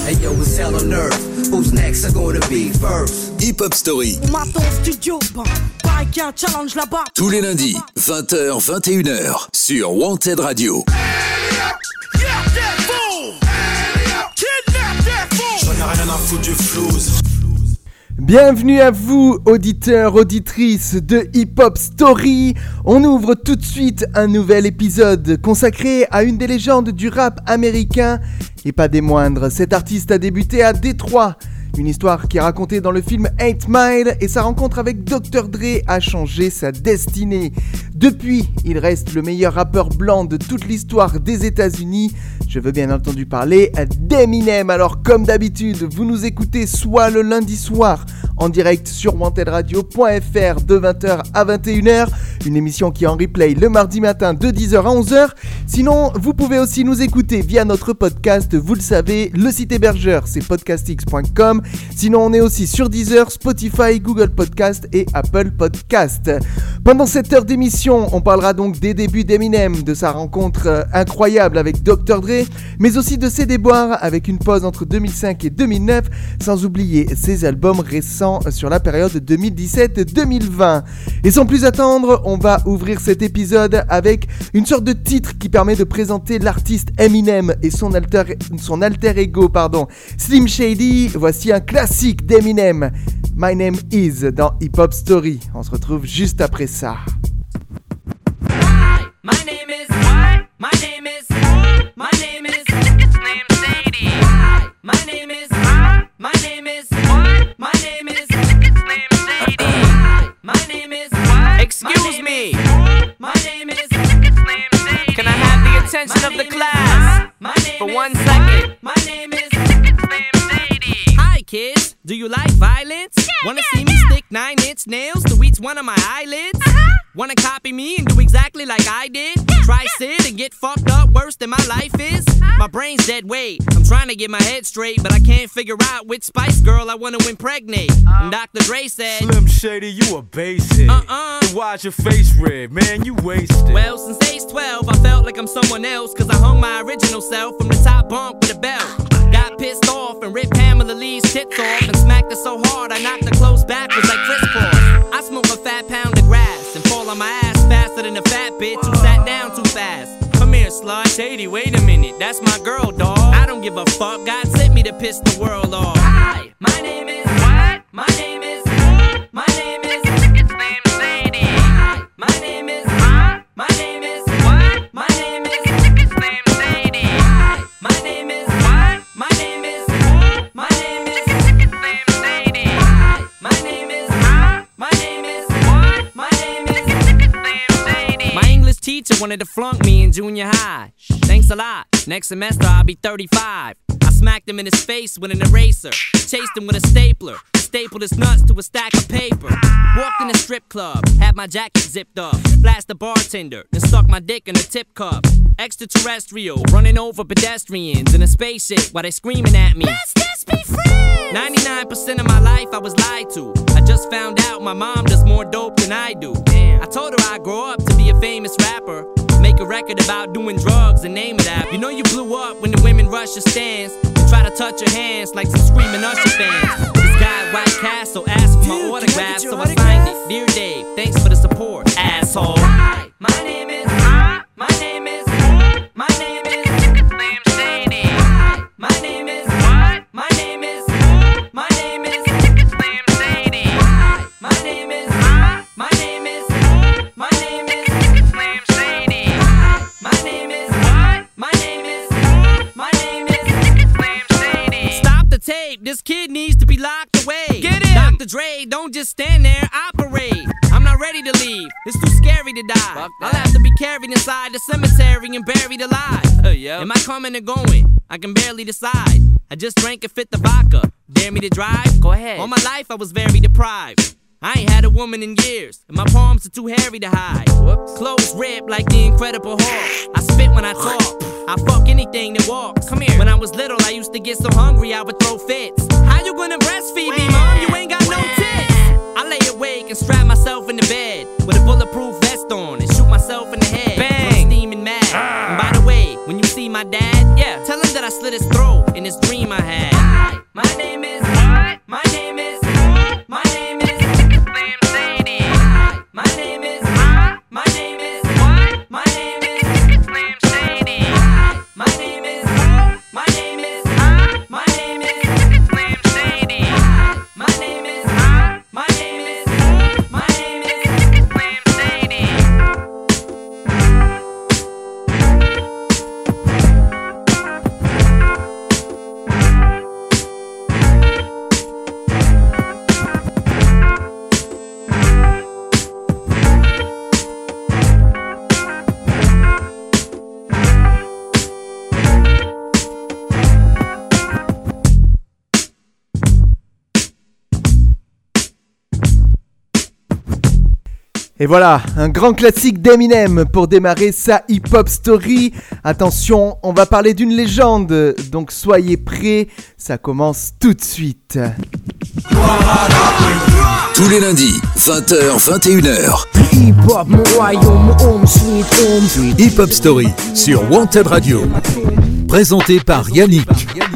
Hey yo, it's hell on earth. Who's next are gonna be first? Hip Hop Story. On m'attend au studio, pareil qu'il y a un challenge là-bas. Tous les lundis, 20h, 21h, sur Wanted Radio. J'en ai rien à foutre du flouze. Bienvenue à vous, auditeurs, auditrices de Hip Hop Story. On ouvre tout de suite un nouvel épisode consacré à une des légendes du rap américain et pas des moindres. Cet artiste a débuté à Détroit. Une histoire qui est racontée dans le film 8 Mile et sa rencontre avec Dr. Dre a changé sa destinée. Depuis, il reste le meilleur rappeur blanc de toute l'histoire des États-Unis. Je veux bien entendu parler d'Eminem. Alors comme d'habitude, vous nous écoutez soit le lundi soir en direct sur wantedradio.fr de 20h à 21h, une émission qui est en replay le mardi matin de 10h à 11h. Sinon, vous pouvez aussi nous écouter via notre podcast, vous le savez, le site hébergeur c'est podcastx.com. Sinon, on est aussi sur Deezer, Spotify, Google Podcast et Apple Podcast. Pendant cette heure d'émission, on parlera donc des débuts d'Eminem, de sa rencontre incroyable avec Dr. Dre, mais aussi de ses déboires avec une pause entre 2005 et 2009, sans oublier ses albums récents sur la période 2017-2020. Et sans plus attendre, on va ouvrir cet épisode avec une sorte de titre qui permet de présenter l'artiste Eminem et son alter ego, Slim Shady. Voici un classique d'Eminem, My Name Is, dans Hip Hop Story. On se retrouve juste après ça. Hi, my name is what? My name is my name is Slim Shady. Hi, my name is my name is what? My name is Slim Shady. Hi, my name is what? Excuse me. My name is Slim Shady. Can I have the attention of the class for 1 second? My name is Slim Shady. Hi kids, do you like violence? Wanna see me stick 9-inch nails to each one of my eyelids? Wanna copy me and do exactly like I did? Try sit and get fucked up worse than my life is? My brain's dead weight, I'm trying to get my head straight, but I can't figure out which Spice Girl I wanna impregnate. And Dr. Dre said, Slim Shady, you a basic. Then why's your face red, man? You wasted. Well, since age 12, I felt like I'm someone else, cause I hung my original self from the top bunk with a belt. Got pissed off and ripped Pamela Lee's tits off and smacked her so hard I knocked her clothes backwards like Chris Paul. I smoke a fat pound of grass and fall on my ass faster than a fat bitch who sat down too fast. Come here, slut. Shady, wait a minute, that's my girl, dawg. I don't give a fuck, God sent me to piss the world off. Hi, my name is what? My name is my name is Slim Shady. Hi, my name is my name is what? My name is Slim Shady. Hi, my name is what? My name is my name is Slim Shady. Hi, my name is my name is what? My name is Slim Shady. My English teacher wanted to flunk me in junior high. Thanks a lot. Next semester I'll be 35. I smacked him in his face with an eraser. Chased him with a stapler. Stapled his nuts to a stack of paper. Walked in a strip club, had my jacket zipped up. Flashed the bartender, then stuck my dick in a tip cup. Extraterrestrial, running over pedestrians in a spaceship while they screaming at me. Let's just be friends! 99% of my life I was lied to. I just found out my mom does more dope than I do. Damn. I told her I'd grow up to be a famous rapper. Make a record about doing drugs and name it after. You know you blew up when the women rush your stands and try to touch your hands like some screaming Usher fans. This guy at White Castle asked for my autograph, so I signed it. Dear Dave, thanks for the support, asshole. Hi, my name is my name is my name is Slim Shady. Hi, my name is my name is my name is Slim Shady. Hi, my name is my name is my name is Slim Shady. Hi, my name is my name is my name is Slim Shady. Stop the tape, this kid needs to be locked away. Get him! Dr. Dre, don't just stand there, operate. I'm not ready to leave, it's too scary to die. I'll have to be carried inside the cemetery and buried alive. Am I coming or going? I can barely decide. I just drank a fifth of vodka. Dare me to drive? Go ahead. All my life I was very deprived. I ain't had a woman in years, and my palms are too hairy to hide. Whoops. Clothes ripped like the Incredible Hulk. I spit when I talk, I fuck anything that walks. Come here. When I was little, I used to get so hungry I would throw fits. How you gonna breastfeed me, mom? You ain't got no tits. I lay awake and strap myself in the bed with a bulletproof vest on and shoot myself in the head. Bang! I'm steaming mad. And by the way, when you see my dad, tell him that I slit his throat in this dream I had. Et voilà, un grand classique d'Eminem pour démarrer sa hip-hop story. Attention, on va parler d'une légende, donc soyez prêts, ça commence tout de suite. Tous les lundis, 20h, 21h. Hip-Hop Story sur Wanted Radio. Présenté par Yannick.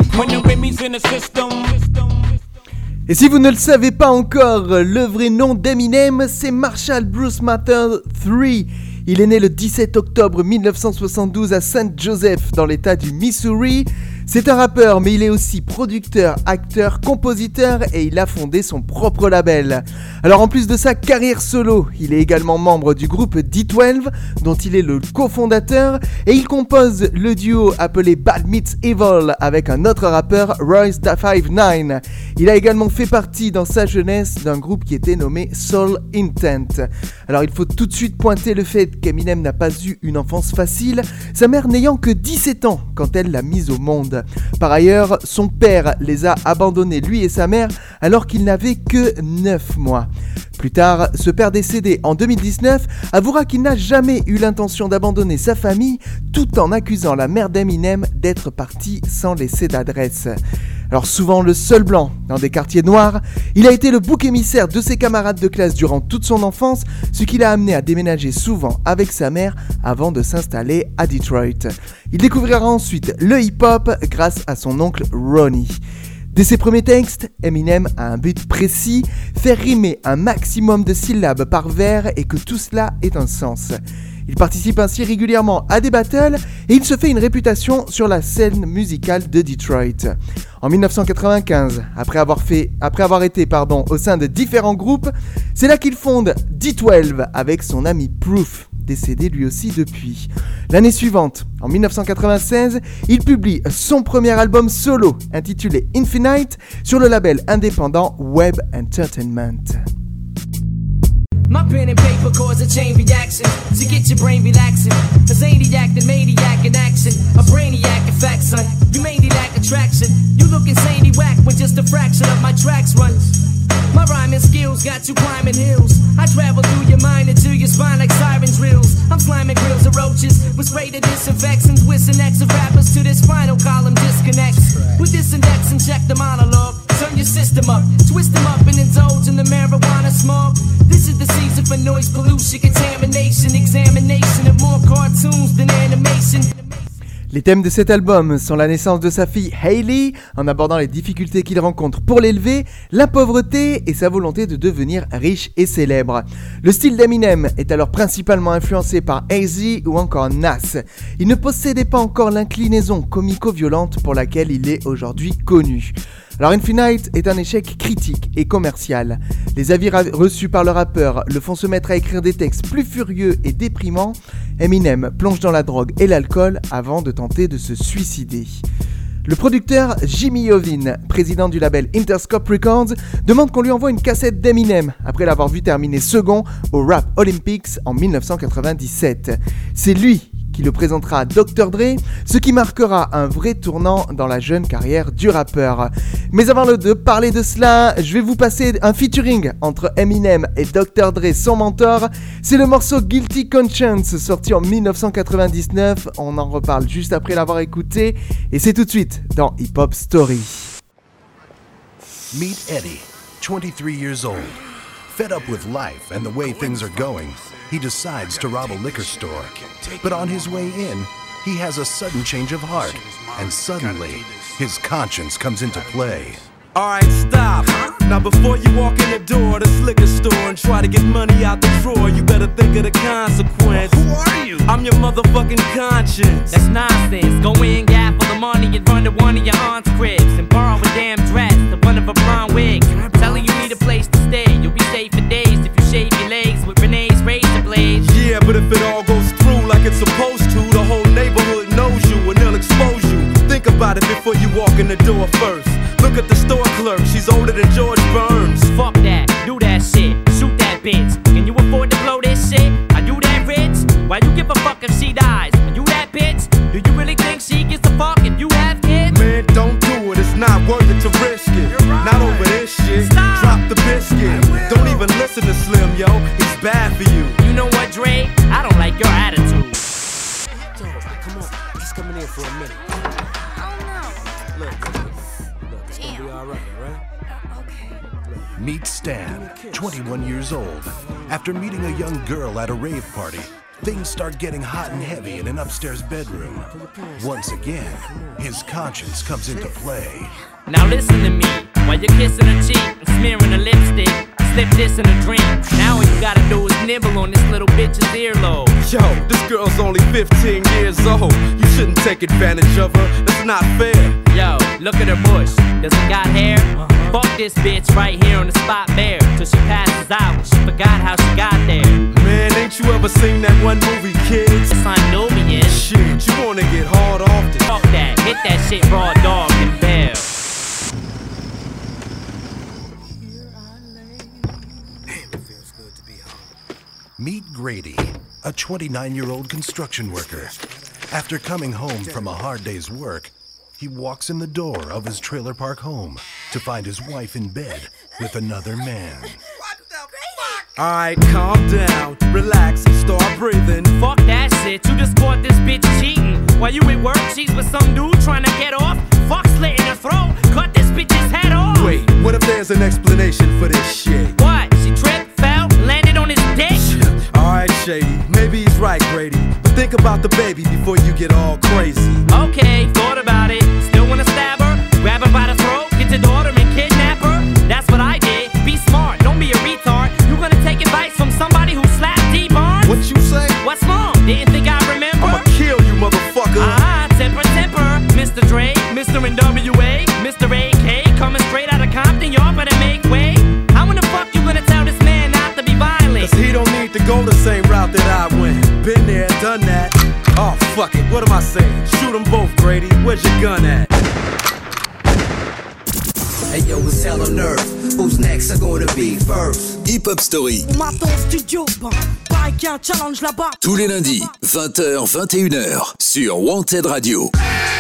Et si vous ne le savez pas encore, le vrai nom d'Eminem, c'est Marshall Bruce Mathers III. Il est né le 17 octobre 1972 à St. Joseph, dans l'état du Missouri. C'est un rappeur, mais il est aussi producteur, acteur, compositeur et il a fondé son propre label. Alors en plus de sa carrière solo, il est également membre du groupe D12, dont il est le cofondateur, et il compose le duo appelé Bad Meets Evil avec un autre rappeur, Royce da 59. Il a également fait partie dans sa jeunesse d'un groupe qui était nommé Soul Intent. Alors il faut tout de suite pointer le fait qu'Eminem n'a pas eu une enfance facile, sa mère n'ayant que 17 ans quand elle l'a mise au monde. Par ailleurs, son père les a abandonnés, lui et sa mère, alors qu'il n'avait que 9 mois. Plus tard, ce père décédé en 2019 avouera qu'il n'a jamais eu l'intention d'abandonner sa famille, tout en accusant la mère d'Eminem d'être partie sans laisser d'adresse. Alors souvent le seul blanc dans des quartiers noirs, il a été le bouc émissaire de ses camarades de classe durant toute son enfance, ce qui l'a amené à déménager souvent avec sa mère avant de s'installer à Detroit. Il découvrira ensuite le hip-hop grâce à son oncle Ronnie. Dès ses premiers textes, Eminem a un but précis, faire rimer un maximum de syllabes par vers et que tout cela ait un sens. Il participe ainsi régulièrement à des battles et il se fait une réputation sur la scène musicale de Detroit. En 1995, après avoir été au sein de différents groupes, c'est là qu'il fonde D12 avec son ami Proof, décédé lui aussi depuis. L'année suivante, en 1996, il publie son premier album solo intitulé Infinite sur le label indépendant Web Entertainment. My pen and paper cause a chain reaction to get your brain relaxing. A zaniac, the maniac in action. A brainiac in fact, son. You mainly lack attraction. You look insanely whack when just a fraction of my tracks run. My rhyming skills got you climbing hills. I travel through your mind into your spine like siren drills. I'm slamming grills of roaches with spray to disinfectants, whizzing X of rappers to this spinal column disconnects. With this index and check the monologue. Turn your system up, twist them up and indulge in the marijuana smog. This is the season for noise pollution, contamination, examination of more cartoons than animation. Les thèmes de cet album sont la naissance de sa fille Hailey, en abordant les difficultés qu'il rencontre pour l'élever, la pauvreté et sa volonté de devenir riche et célèbre. Le style d'Eminem est alors principalement influencé par AZ ou encore Nas. Il ne possédait pas encore l'inclinaison comico-violente pour laquelle il est aujourd'hui connu. Alors Infinite est un échec critique et commercial. Les avis reçus par le rappeur le font se mettre à écrire des textes plus furieux et déprimants. Eminem plonge dans la drogue et l'alcool avant de tenter de se suicider. Le producteur Jimmy Iovine, président du label Interscope Records, demande qu'on lui envoie une cassette d'Eminem après l'avoir vu terminer second au Rap Olympics en 1997. C'est lui qui le présentera à Dr. Dre, ce qui marquera un vrai tournant dans la jeune carrière du rappeur. Mais avant de parler de cela, je vais vous passer un featuring entre Eminem et Dr. Dre, son mentor. C'est le morceau Guilty Conscience, sorti en 1999. On en reparle juste après l'avoir écouté, et c'est tout de suite dans Hip Hop Story. Meet Eddie, 23 years old. Fed up with life and the way things are going, he decides to rob a liquor store. But on his way in, he has a sudden change of heart, and suddenly, his conscience comes into play. Alright, stop. Now before you walk in the door of this liquor store and try to get money out the drawer, you better think of the consequence. Who are you? I'm your motherfucking conscience. That's nonsense. Go in, gap for the money, and run to one of your aunt's cribs and borrow a damn dress, the one of a blonde wig. Tell her you need a place to stay. You'll be safe for days if you shave your legs with Renee's razor blades. Yeah, but if it all goes through like it's supposed to, the whole neighborhood knows you and they'll expose you. Think about it before you walk in the door first. Look at the store clerk, she's older than George Burns. Fuck that, do that shit, shoot that bitch. Can you afford to blow this shit? Are you that rich? Why you give a fuck if she dies? Are you that bitch? Do you really think she gets a fuck if you have kids? Man, don't do it, it's not worth it to risk it. Right. Not over this shit. Stop. Drop the biscuit. Don't even listen to Slim, yo, he's bad for you. Meet Stan, 21 years old. After meeting a young girl at a rave party, things start getting hot and heavy in an upstairs bedroom. Once again, his conscience comes into play. Now listen to me, while you're kissing her cheek and smearing her lipstick, slip this in a drink. Now all you gotta do is nibble on this little bitch's earlobe. Yo, this girl's only 15 years old. You shouldn't take advantage of her, that's not fair. Yo, look at her bush, does it got hair? Fuck this bitch right here on the spot bare, till she passes out, she forgot how she got there. Man, ain't you ever seen that one movie, Kids? It's on Nubian. Shit, you wanna get hard off this? Fuck that, hit that shit raw dog and bell. Meet Grady, a 29-year-old construction worker. After coming home from a hard day's work, he walks in the door of his trailer park home to find his wife in bed with another man. Alright, calm down, relax and start breathing. Fuck that shit, you just caught this bitch cheating. While you at work, she's with some dude trying to get off. Fuck slit in her throat, cut this bitch's head off. Wait, what if there's an explanation for this shit? What? She tripped, fell, landed on his dick? Alright, Shady, maybe he's right, Grady. But think about the baby before you get all crazy. Okay, thought about it. Still wanna stab her? Grab her by the throat, get your daughter and kidnap her? That's what I did. Be smart, don't be a retard. You gonna take advice from somebody who slapped D-Barnes? What you say? What's wrong? Didn't think I remember? I'ma kill you, motherfucker. Temper, Mr. Dre, Mr. NWA, Mr. AK, coming straight out of Compton, y'all better make way. How in the fuck you gonna tell this man not to be violent? Cause he don't need to go the same route that I went. Been there, done that. Oh, fuck it, what am I saying? Shoot them both, Grady. Where's your gun at? Hey yo, it's hell on earth. Who's next are gonna be first? Hip Hop Story. On m'attend au studio, bah, pareil qu'il y a un challenge là-bas. Tous les lundis, 20h, 21h, sur Wanted Radio.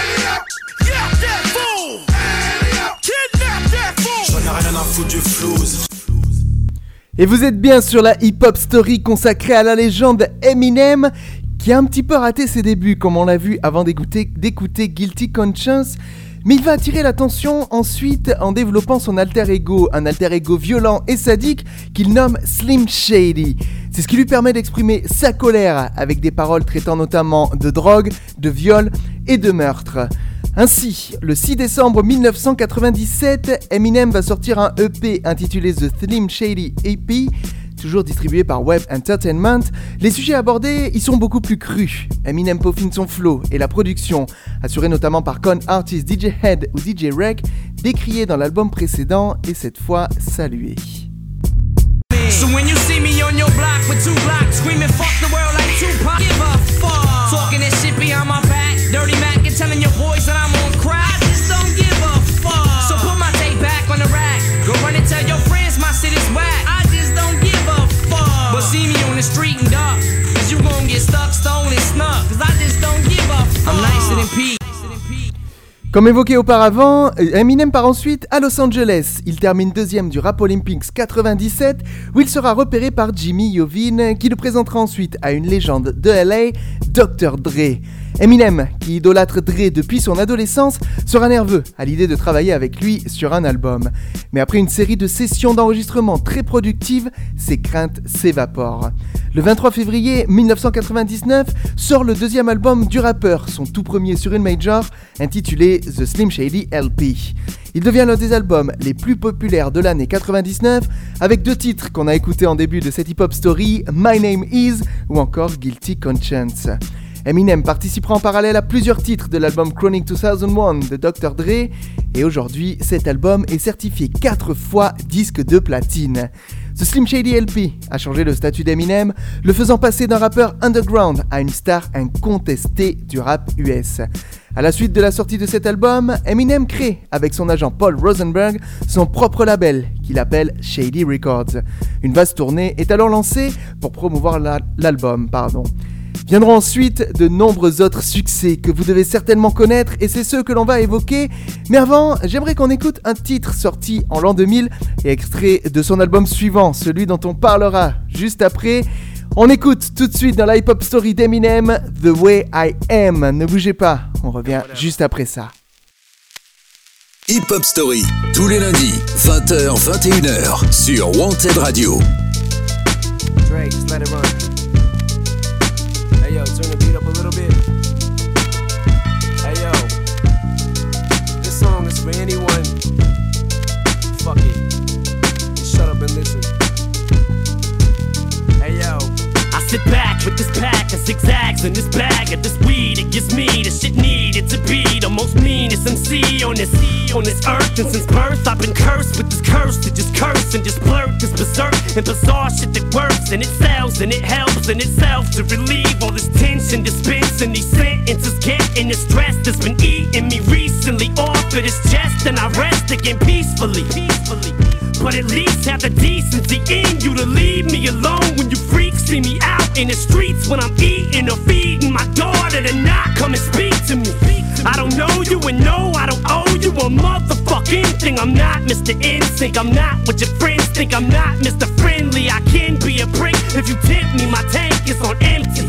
Et vous êtes bien sur la Hip Hop Story consacrée à la légende Eminem, qui a un petit peu raté ses débuts, comme on l'a vu avant d'écouter Guilty Conscience. Mais il va attirer l'attention ensuite en développant son alter ego, un alter ego violent et sadique qu'il nomme Slim Shady. C'est ce qui lui permet d'exprimer sa colère avec des paroles traitant notamment de drogue, de viol et de meurtre. Ainsi, le 6 décembre 1997, Eminem va sortir un EP intitulé The Slim Shady EP, toujours distribué par Web Entertainment. Les sujets abordés y sont beaucoup plus crus. Eminem peaufine son flow et la production, assurée notamment par con artists DJ Head ou DJ Rec, décriés dans l'album précédent et cette fois salués. So when you see me on your block with 2 blocks screaming fuck the world like Tupac, give a fuck. Talking that shit behind my back, dirty Mac and telling your boys that I'm on crack. I just don't give a fuck. So put my tape back on the rack, go run and tell your friends my shit is whack. I just don't give a fuck. But see me on the street and duck, cause you gon' get stuck, stolen, snuck. Cause I just don't give a fuck. I'm nicer than Pete. Comme évoqué auparavant, Eminem part ensuite à Los Angeles. Il termine deuxième du Rap Olympics 97, où il sera repéré par Jimmy Iovine, qui le présentera ensuite à une légende de LA, Dr. Dre. Eminem, qui idolâtre Dre depuis son adolescence, sera nerveux à l'idée de travailler avec lui sur un album. Mais après une série de sessions d'enregistrement très productives, ses craintes s'évaporent. Le 23 février 1999 sort le deuxième album du rappeur, son tout premier sur une major, intitulé The Slim Shady LP. Il devient l'un des albums les plus populaires de l'année 99, avec 2 titres qu'on a écoutés en début de cette hip-hop story, My Name Is ou encore Guilty Conscience. Eminem participera en parallèle à plusieurs titres de l'album Chronic 2001 de Dr. Dre, et aujourd'hui, cet album est certifié 4 fois disque de platine. The Slim Shady LP a changé le statut d'Eminem, le faisant passer d'un rappeur underground à une star incontestée du rap US. À la suite de la sortie de cet album, Eminem crée, avec son agent Paul Rosenberg, son propre label, qu'il appelle Shady Records. Une vaste tournée est alors lancée pour promouvoir l'album. Viendront ensuite de nombreux autres succès que vous devez certainement connaître, et c'est ceux que l'on va évoquer. Mais avant, j'aimerais qu'on écoute un titre sorti en l'an 2000 et extrait de son album suivant, celui dont on parlera juste après. On écoute tout de suite dans la Hip Hop Story d'Eminem, The Way I Am. Ne bougez pas, on revient juste après ça. Hip Hop Story, tous les lundis, 20h, 21h, sur Wanted Radio. Dre, just let it run. Hey yo, turn the beat up a little bit. Hey yo, this song is for anyone. Fuck it, just shut up and listen. Hey yo, I sit back with this pack of zigzags and this bag of this weed. It gives me the shit needed to be the most meanest MC on this earth. And since birth I've been cursed with this curse to just curse and just blurt this berserk and bizarre shit that works and it sells and it helps in itself to relieve all this tension, dispensing these sentences, getting the stress that's been eating me recently off of this chest, and I rest again peacefully. But at least have the decency in you to leave me alone when you freaks see me out in the streets when I'm eating or feeding my daughter to not come and speak to me. I don't know you and no, I don't owe you a motherfucking thing. I'm not Mr. NSYNC, I'm not what your friends think. I'm not Mr. Friendly, I can be a prick. If you tip me, my tank is on empty.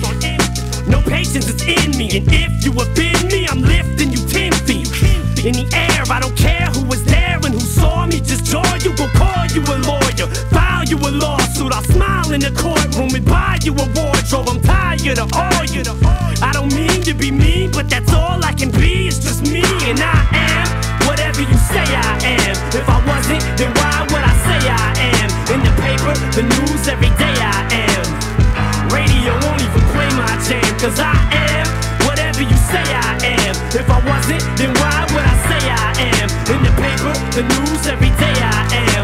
No patience is in me, and if you offend me, I'm lifting you 10 feet in the air. I don't care who was there and who saw me, just joy you, will call you a lawyer, file you a lawsuit. I'll smile in the courtroom and buy you a wardrobe. I'm tired of all you. I don't mean to be mean, but that's all I can be. It's just me, and I am whatever you say I am. If I wasn't, then why would I say I am? In the paper, the news, every day I am. Radio won't even play my jam, cause I am whatever you say I am. If I wasn't, then why would I say I am? In the paper, the news, every day I am.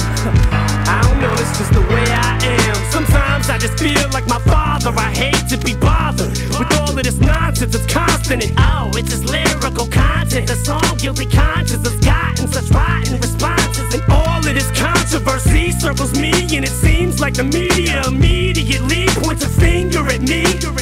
I don't know, it's just the way I am. Sometimes I just feel like my father. I hate to be bothered with all of this nonsense. It's constant and oh, it's just lyrical content. The song Guilty Conscience has gotten such rotten responses, and all of this controversy circles me, and it seems like the media immediately points a finger at me.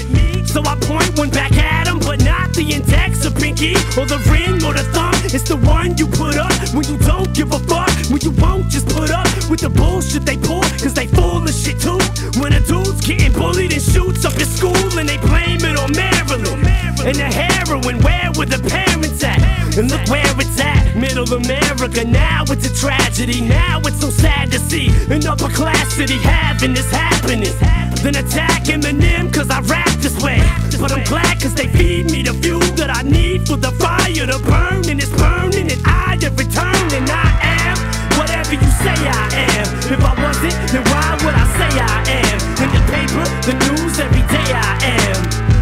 So I point one back at him, but not the index or pinky or the ring or the thumb. It's the one you put up when you don't give a fuck, when you won't just put up with the bullshit they pull, cause they full of shit too. When a dude's getting bullied and shoots up his school and they blame it on Maryland and the heroin, where were the parents at? And look where it's at, middle America. Now it's a tragedy, now it's so sad to see an upper class city having this happening. Then attack Eminem cause I rap this way, but I'm glad cause they feed me the fuel that I need for the fire to burn, and it's burning and I have returned, and I am whatever you say I am. If I wasn't, then why would I say I am? In the paper, the news, every day I am.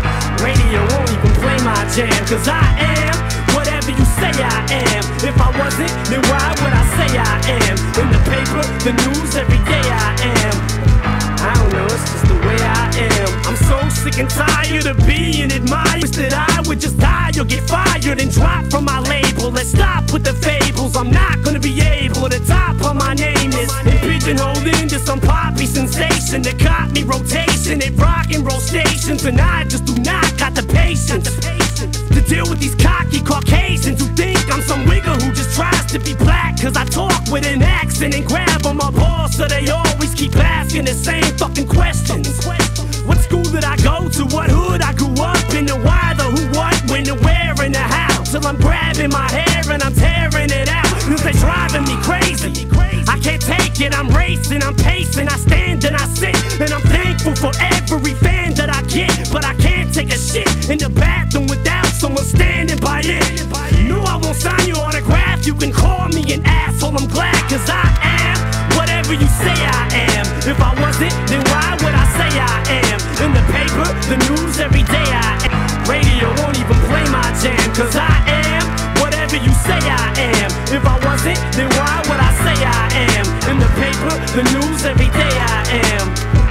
Radio won't even play my jam, cause I am whatever you say I am. If I wasn't, then why would I say I am? In the paper, the news, every day I am. I don't know, it's just the way I am. I'm so sick and tired of being admired. Wish that I would just die or get fired and drop from my label. Let's stop with the fables. I'm not gonna be able to top on my name is and pigeonholed into some poppy sensation that caught me rotation at rock and roll stations, and I just do not got the patience to deal with these cocky Caucasians who think I'm some wigger who just tries to be black, cause I talk with an accent and grab on my balls, so they always keep asking the same fucking questions. What school did I go to? What hood I grew up in? The why, the who, what, when, the where, and the how. Till I'm grabbing my hair and I'm tearing it out, cause they driving me crazy. I can't take it, I'm racing, I'm pacing, I stand and I sit, and I'm thankful for every fan that I get, but I can't take a shit in the bathroom without someone standing by it. No, I won't sign your autograph, you can call me an asshole, I'm glad, cause I am whatever you say I am. If I wasn't, then why would I say I am? In the paper, the news, every day I am. Radio won't even play my jam, cause I am whatever you say I am. If I wasn't, then why would I say I am? In the paper, the news, every day I am.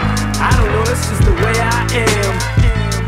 I don't know, it's just the way I am.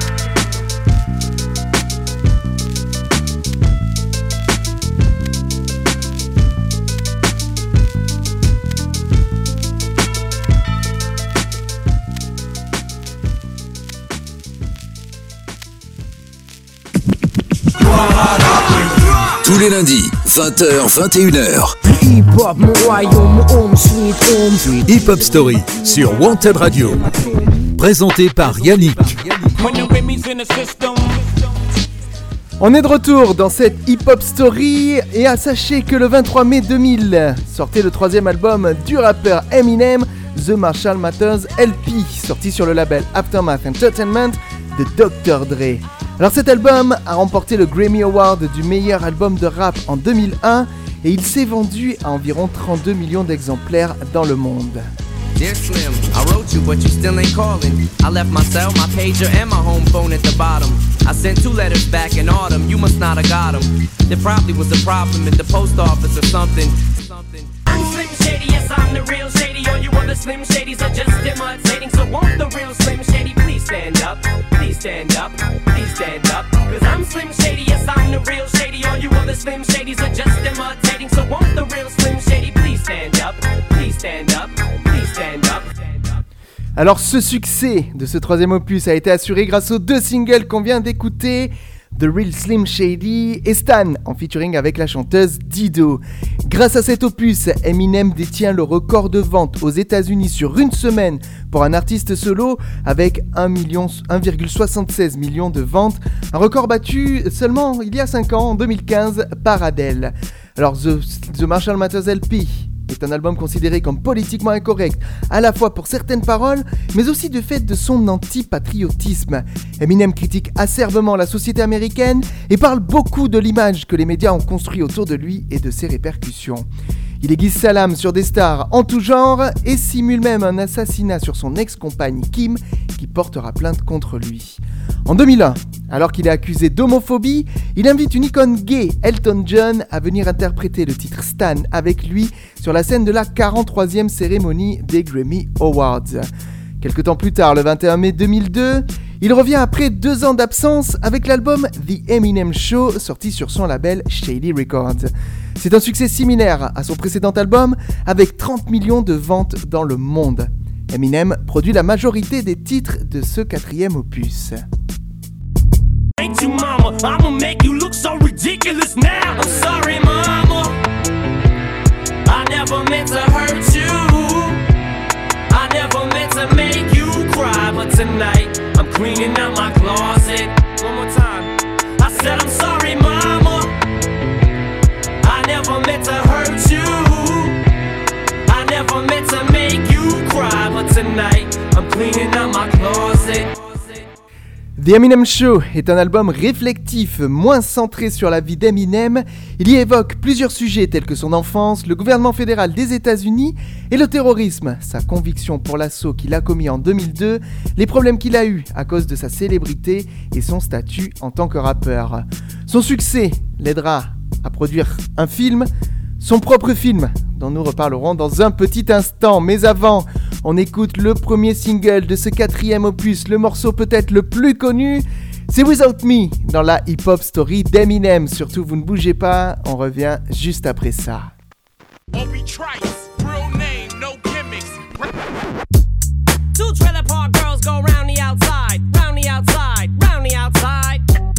Tous les lundis, 20h, 21h. Hip-hop, mon royaume, mon home, sweet home. Hip Hop Story sur Wanted Radio. Présenté par Yannick. On est de retour dans cette hip-hop story et sachez que le 23 mai 2000 sortait le 3e album du rappeur Eminem, The Marshall Mathers LP, sorti sur le label Aftermath Entertainment de Dr. Dre. Alors cet album a remporté le Grammy Award du meilleur album de rap en 2001 et il s'est vendu à environ 32 millions d'exemplaires dans le monde. Dear Slim, I wrote you, but you still ain't calling. I left my cell, my pager, and my home phone at the bottom. I sent 2 letters back in autumn, you must not have got them. There probably was a problem at the post office or something. I'm Slim Shady, yes, I'm the real Shady. All you other Slim Shadys are just imitating. So won't the real Slim Shady please stand up? Please stand up, please stand up. Cause I'm Slim Shady, yes, I'm the real Shady. All you other Slim Shadys are just imitating. So won't the real Slim Shady please stand up? Please stand up, please stand up. Alors ce succès de ce 3e opus a été assuré grâce aux 2 singles qu'on vient d'écouter, The Real Slim Shady et Stan, en featuring avec la chanteuse Dido. Grâce à cet opus, Eminem détient le record de vente aux États-Unis sur une semaine pour un artiste solo avec 1,76 million de ventes, un record battu seulement il y a 5 ans, en 2015, par Adele. Alors The Marshall Mathers LP est un album considéré comme politiquement incorrect, à la fois pour certaines paroles, mais aussi du fait de son anti-patriotisme. Eminem critique acerbement la société américaine et parle beaucoup de l'image que les médias ont construite autour de lui et de ses répercussions. Il aiguise sa lame sur des stars en tout genre et simule même un assassinat sur son ex-compagne Kim qui portera plainte contre lui. En 2001, alors qu'il est accusé d'homophobie, il invite une icône gay, Elton John, à venir interpréter le titre Stan avec lui sur la scène de la 43e cérémonie des Grammy Awards. Quelque temps plus tard, le 21 mai 2002, il revient après 2 ans d'absence avec l'album The Eminem Show, sorti sur son label Shady Records. C'est un succès similaire à son précédent album, avec 30 millions de ventes dans le monde. Eminem produit la majorité des titres de ce 4e opus. Ain't you mama, I'ma make you look so ridiculous now. I'm sorry mama, I never meant to hurt you. I never meant to make you cry, but tonight I'm cleaning out my closet. One more time. I said I'm sorry mama, I never meant to hurt you. I never meant to make you cry, but tonight I'm cleaning out my closet. The Eminem Show est un album réflectif, moins centré sur la vie d'Eminem. Il y évoque plusieurs sujets tels que son enfance, le gouvernement fédéral des États-Unis et le terrorisme, sa conviction pour l'assaut qu'il a commis en 2002, les problèmes qu'il a eus à cause de sa célébrité et son statut en tant que rappeur. Son succès l'aidera à produire un film, son propre film, dont nous reparlerons dans un petit instant. Mais avant, on écoute le premier single de ce 4e opus, le morceau peut-être le plus connu, c'est Without Me, dans la hip-hop story d'Eminem. Surtout, vous ne bougez pas, on revient juste après ça. Two trailer park girls go round the outside, round the outside, round the outside.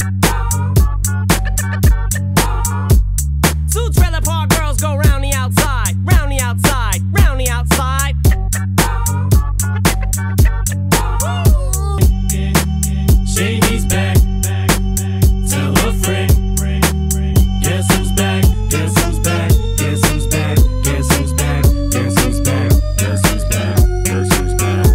Two trailer park girls go round the outside, round the outside, round the outside. Shady's back, tell a friend. Guess who's back, guess who's back, guess who's back, guess who's back, guess who's back, guess who's back, guess who's back.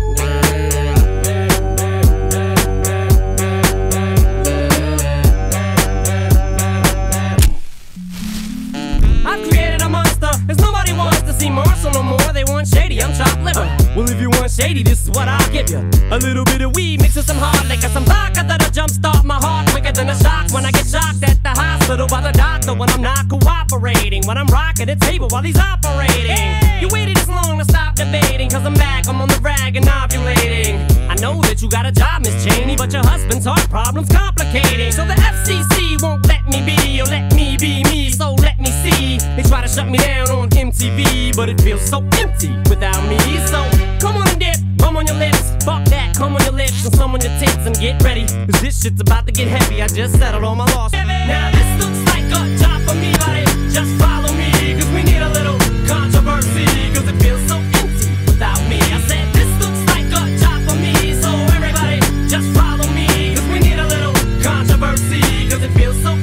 I've created a monster, cause nobody wants to see Marshall no more. They want Shady, I'm chopped liver. Well, if you want Shady, this is what I'll give you. A little bit of weed mixed with some hard liquor, some vodka that'll jumpstart my heart quicker than a shock when I get shocked at the hospital by the doctor when I'm not cooperating, when I'm rocking the table while he's operating. Hey! You waited this long to stop debating, cause I'm back, I'm on the rag and ovulating. I know that you got a job, Miss Cheney, but your husband's heart problem's complicating. So the FCC won't let me be, or let me be me, so let me see. They try to shut me down on MTV, but it feels so empty without me. So come on and dip, bum on your lips, fuck that, come on your lips and some on your tits and get ready, cause this shit's about to get heavy. I just settled all my loss. Now this looks like a job for me, buddy. Just follow me, cause we need a little controversy, cause it feels so empty without me. I said this looks like a job for me, so everybody just follow me, cause we need a little controversy, cause it feels so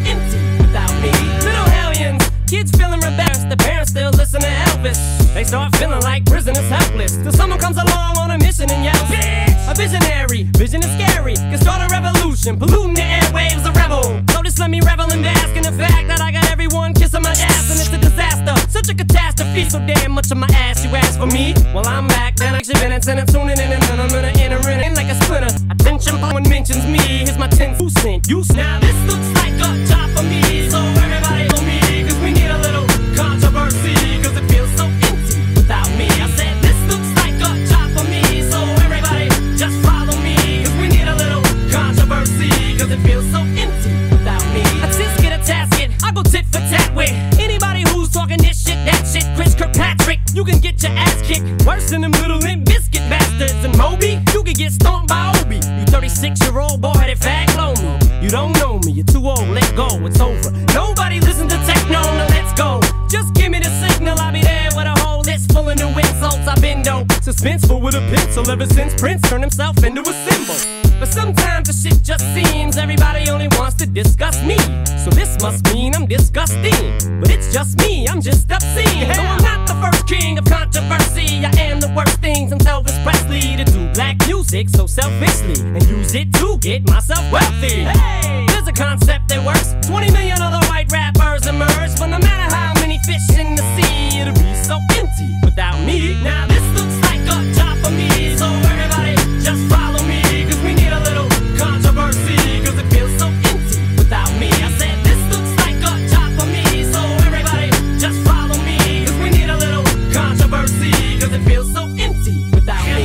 start feeling like prisoners helpless. Till someone comes along on a mission and yells, bitch! A visionary, vision is scary. Can start a revolution, polluting the airwaves, a rebel. So just let me revel and bask in the fact that I got everyone kissing my ass and it's a disaster. Such a catastrophe, so damn much of my ass you ask for me. Well, I'm back, then I should been and tuning in and then I'm gonna enter in like a splinter. Attention, one mentions me, here's my 10 cent. You now this looks like a job for me, so everybody know me, cause we need a little controversy, cause it feels so empty without me. I said this looks like a job for me, so everybody just follow me, cause we need a little controversy, cause it feels so empty without me. A tisket, a tasket, I go tit for tat with anybody who's talking this shit, that shit. Chris Kirkpatrick, you can get your ass kicked worse than them little Limp Biscuit bastards. And Moby, you can get stomped by Obi. You 36-year-old boy that fag blow me. You don't know me, you're too old, let go, it's over. Nobody listen to techno, now let's go. Just give me the signal, I'll be there with a whole list full of new insults. I've been dope, suspenseful with a pencil ever since Prince turned himself into a symbol. But sometimes the shit just seems everybody only wants to discuss me. So this must mean I'm disgusting. But it's just me, I'm just obscene. Though I'm not the first king of controversy, I am the worst things I'm Elvis Presley to do black music so selfishly and use it to get myself wealthy. Hey, there's a concept that works. 20 million other white rappers emerge, but no matter how many fish in the sea, it'll be so empty without me. Now this looks like a job for me, so everybody just follow me, cause we need a little controversy, cause it feels so empty without me. I said this looks like a job for me, so everybody just follow me, cause we need a little controversy, cause it feels so empty without me.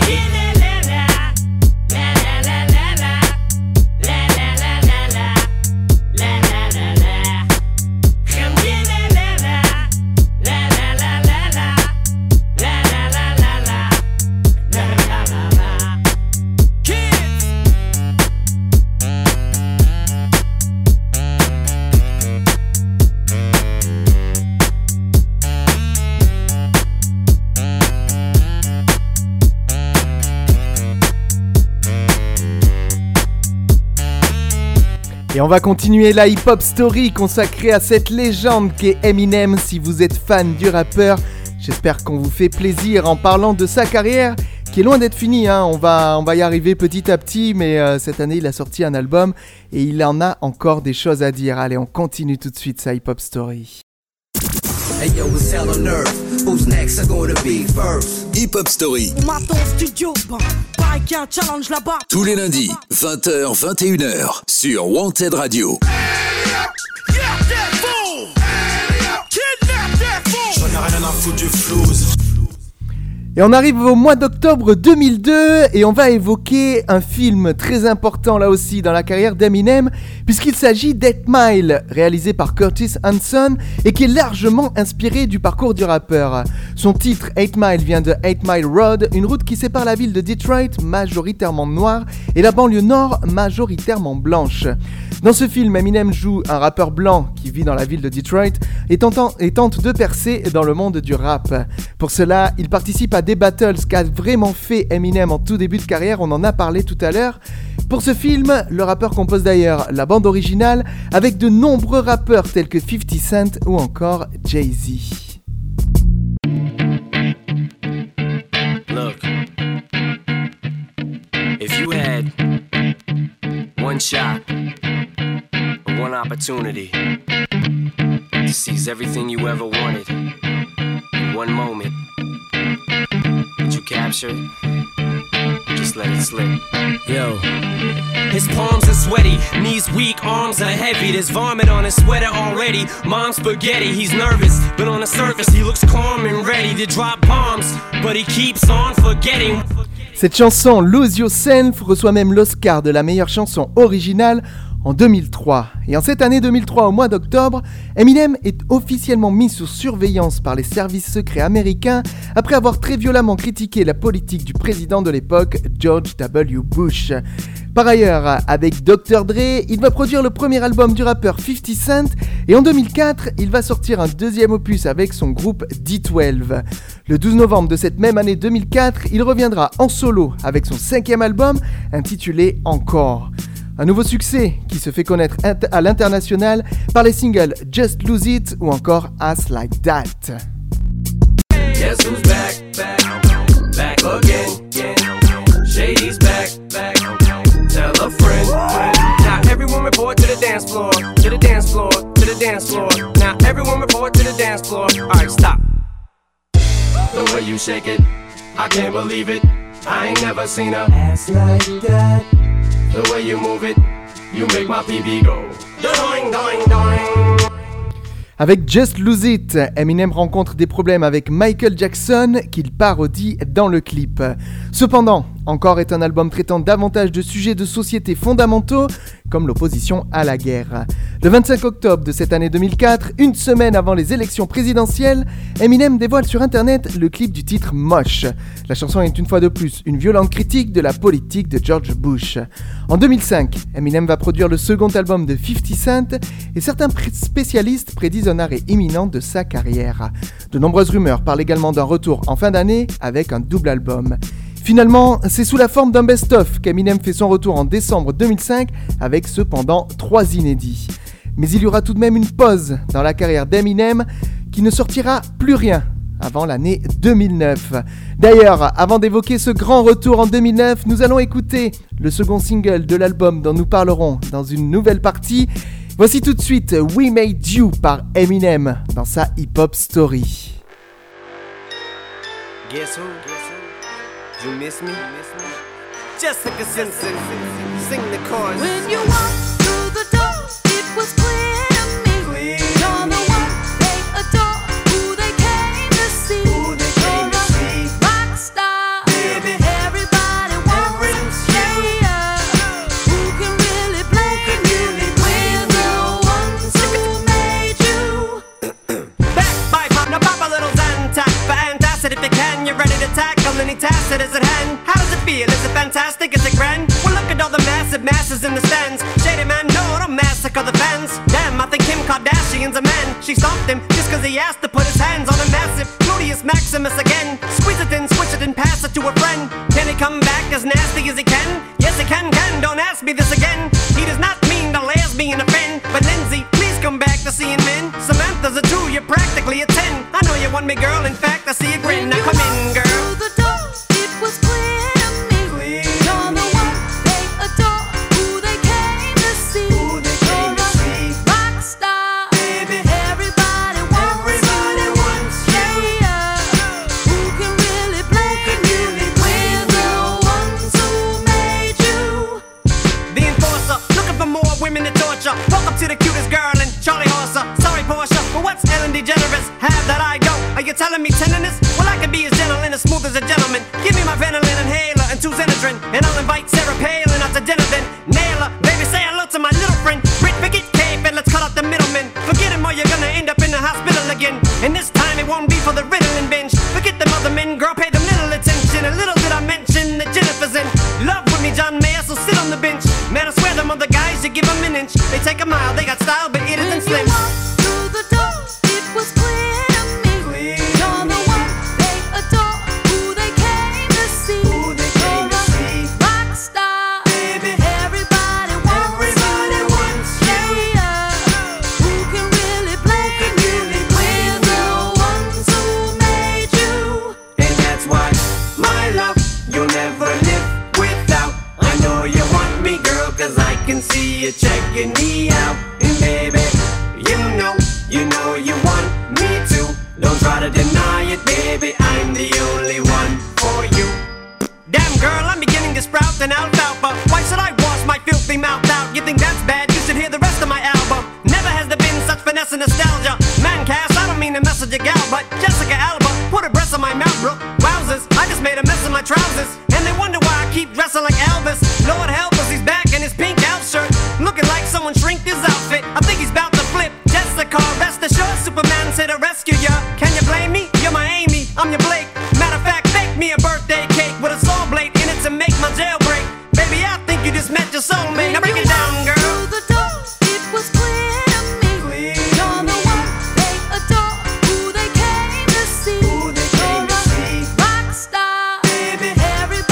Et on va continuer la hip-hop story consacrée à cette légende qu'est Eminem. Si vous êtes fan du rappeur, j'espère qu'on vous fait plaisir en parlant de sa carrière qui est loin d'être finie, hein. On va y arriver petit à petit, mais cette année il a sorti un album et il en a encore des choses à dire. Allez, on continue tout de suite sa hip-hop story. Hey yo, it's hell on earth. Who's next are gonna be first? Hip Hop Story. On m'attend au studio, pareil qu'il y a un challenge là-bas. Tous les lundis, 20h, 21h, sur Wanted Radio. J'en ai rien à foutre du flouze. Et on arrive au mois d'octobre 2002 et on va évoquer un film très important là aussi dans la carrière d'Eminem puisqu'il s'agit d'8 Mile, réalisé par Curtis Hanson et qui est largement inspiré du parcours du rappeur. Son titre 8 Mile vient de 8 Mile Road, une route qui sépare la ville de Detroit, majoritairement noire, et la banlieue nord, majoritairement blanche. Dans ce film, Eminem joue un rappeur blanc qui vit dans la ville de Detroit et tente de percer dans le monde du rap. Pour cela, il participe à des battles qu'a vraiment fait Eminem en tout début de carrière, on en a parlé tout à l'heure. Pour ce film, le rappeur compose d'ailleurs la bande originale avec de nombreux rappeurs tels que 50 Cent ou encore Jay-Z. Look, if you had one shot, one opportunity to seize everything you ever wanted in one moment, would you capture it? Just let it slip. Yo. His palms are sweaty, knees weak, arms are heavy. There's vomit on his sweater already. Mom's spaghetti, he's nervous, but on the surface he looks calm and ready to drop bombs. But he keeps on forgetting. Cette chanson, Lose Yourself, reçoit même l'Oscar de la meilleure chanson originale en 2003. Et en cette année 2003, au mois d'octobre, Eminem est officiellement mis sous surveillance par les services secrets américains après avoir très violemment critiqué la politique du président de l'époque, George W. Bush. Par ailleurs, avec Dr. Dre, il va produire le premier album du rappeur 50 Cent et en 2004, il va sortir un deuxième opus avec son groupe D12. Le 12 novembre de cette même année 2004, il reviendra en solo avec son 5e album intitulé Encore. Un nouveau succès qui se fait connaître à l'international par les singles Just Lose It ou encore Ass Like That. Guess who's back, back again, Shady's back, tell a friend. Now everyone report to the dance floor, to the dance floor, to the dance floor. Now everyone report to the dance floor. Alright, stop. The way you shake it, I can't believe it. I ain't never seen a ass like that. The way you move it, you make my PB go doing, doing, doing. Avec Just Lose It, Eminem rencontre des problèmes avec Michael Jackson qu'il parodie dans le clip. Cependant, Encore est un album traitant davantage de sujets de société fondamentaux, comme l'opposition à la guerre. Le 25 octobre de cette année 2004, une semaine avant les élections présidentielles, Eminem dévoile sur internet le clip du titre Mosh. La chanson est une fois de plus une violente critique de la politique de George Bush. En 2005, Eminem va produire le second album de 50 Cent et certains spécialistes prédisent un arrêt imminent de sa carrière. De nombreuses rumeurs parlent également d'un retour en fin d'année avec un double album. Finalement, c'est sous la forme d'un best-of qu'Eminem fait son retour en décembre 2005 avec cependant 3 inédits. Mais il y aura tout de même une pause dans la carrière d'Eminem qui ne sortira plus rien avant l'année 2009. D'ailleurs, avant d'évoquer ce grand retour en 2009, nous allons écouter le second single de l'album dont nous parlerons dans une nouvelle partie. Voici tout de suite We Made You par Eminem dans sa hip-hop story. Guess who? You miss me? Jessica Simpson, sing the chorus. When you walked through the door, it was clear to me. You're the one they adore, who they came to see. You're a rock star, baby. Everybody wants you. Who can really blame you? We're the ones who made you. Back by pop, now pop a little Zantac for antacid if you can. You're ready to tackle any task that is at hand. How does it feel? Is it fantastic? Is it grand? Well, look at all the massive masses in the stands. Shady man, no, don't massacre the fans. Damn, I think Kim Kardashian's a man. She stopped him just cause he asked to put his hands on a massive Gluteus Maximus again. Squeeze it in, switch it and pass it to a friend. Can he come back as nasty as he can? Yes, he can, don't ask me this again. He does not mean the lesbian a friend. But Lindsay, please come back to seeing men. Samantha's a 2, you're practically a 10. I know you want me, girl, in fact, I see a grin. Now come in, girl. Through the door, it was clear to me. You're the one they adore, who they came to see. You're a rock star, baby. Everybody wants you. Who can really blame you? We're the ones who made you. The enforcer, looking for more women to torture. Walk up to the cutest girl and Charlie Horser. Sorry, Portia, but what's Ellen DeGeneres? Have that I go. Are you telling me tenderness? Well, I can be as gentle and as smooth as a gentleman. Give me my Venolin inhaler and 2 Xenadrin, and I'll invite Sarah Palin out to dinner then. Nail her, baby, say hello to my little friend. Brit, forget Cape and let's cut out the middlemen. Forget him or you're gonna end up in the hospital again. And this time it won't be for the Ritalin binge. Forget them other men, girl, pay them little attention. And little did I mention that Jennifer's in love with me, John Mayer, so sit on the bench. Man, I swear them other guys, you give them an inch. They take a mile, they got style, but it isn't slim. Through the door, it was clear to me. You're the one they adore, who they came to see. You're a rock star, baby. Everybody wants you. Who can really blame you? We're the ones who made you. And that's why, my love, you'll never live without. I know you want me, girl, cause I can see you checking me out. And baby, you know you want me too. Don't try to deny it, baby, I'm the only one for you. Damn girl, I'm beginning to sprout an alfalfa. Why should I wash my filthy mouth out? You think that's bad? You should hear the rest of my album. Never has there been such finesse and nostalgia. Man, Cass, I don't mean to mess with your gal, but Jessica Alba put her breasts on my mouth, bro. Wowzers, I just made a mess of my trousers. And they wonder why I keep dressing like Elvis. Lord help us, he's back in his pink elf shirt, looking like someone shrinked his outfit. I think he's about to flip. Jessica, rest assured, Superman's here to rescue ya. Can you blame me? You're my Amy, I'm your Blake. Matter of fact, bake me a birthday cake with a saw blade in it to make my jailbreak. Baby, I think you just met your soulmate. Now break it down, girl. Through the door, it was clear to me. You're the one they adore, who they came to see. You're a rock star, baby. Everybody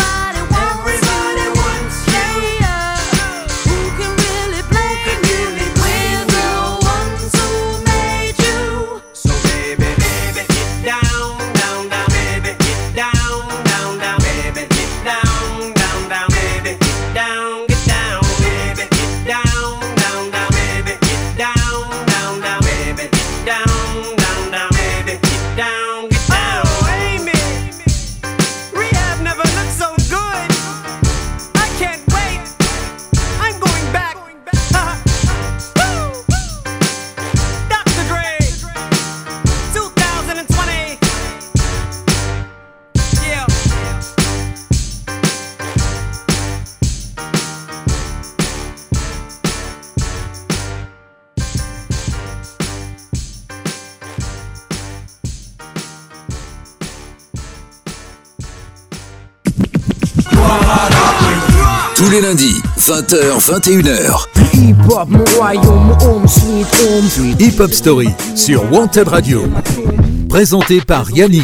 Tous les lundis, 20h, 21h. Hip-hop, mon royaume, mon home, sweet home. Hip Hop Story sur Wanted Radio. Présenté par Yannick.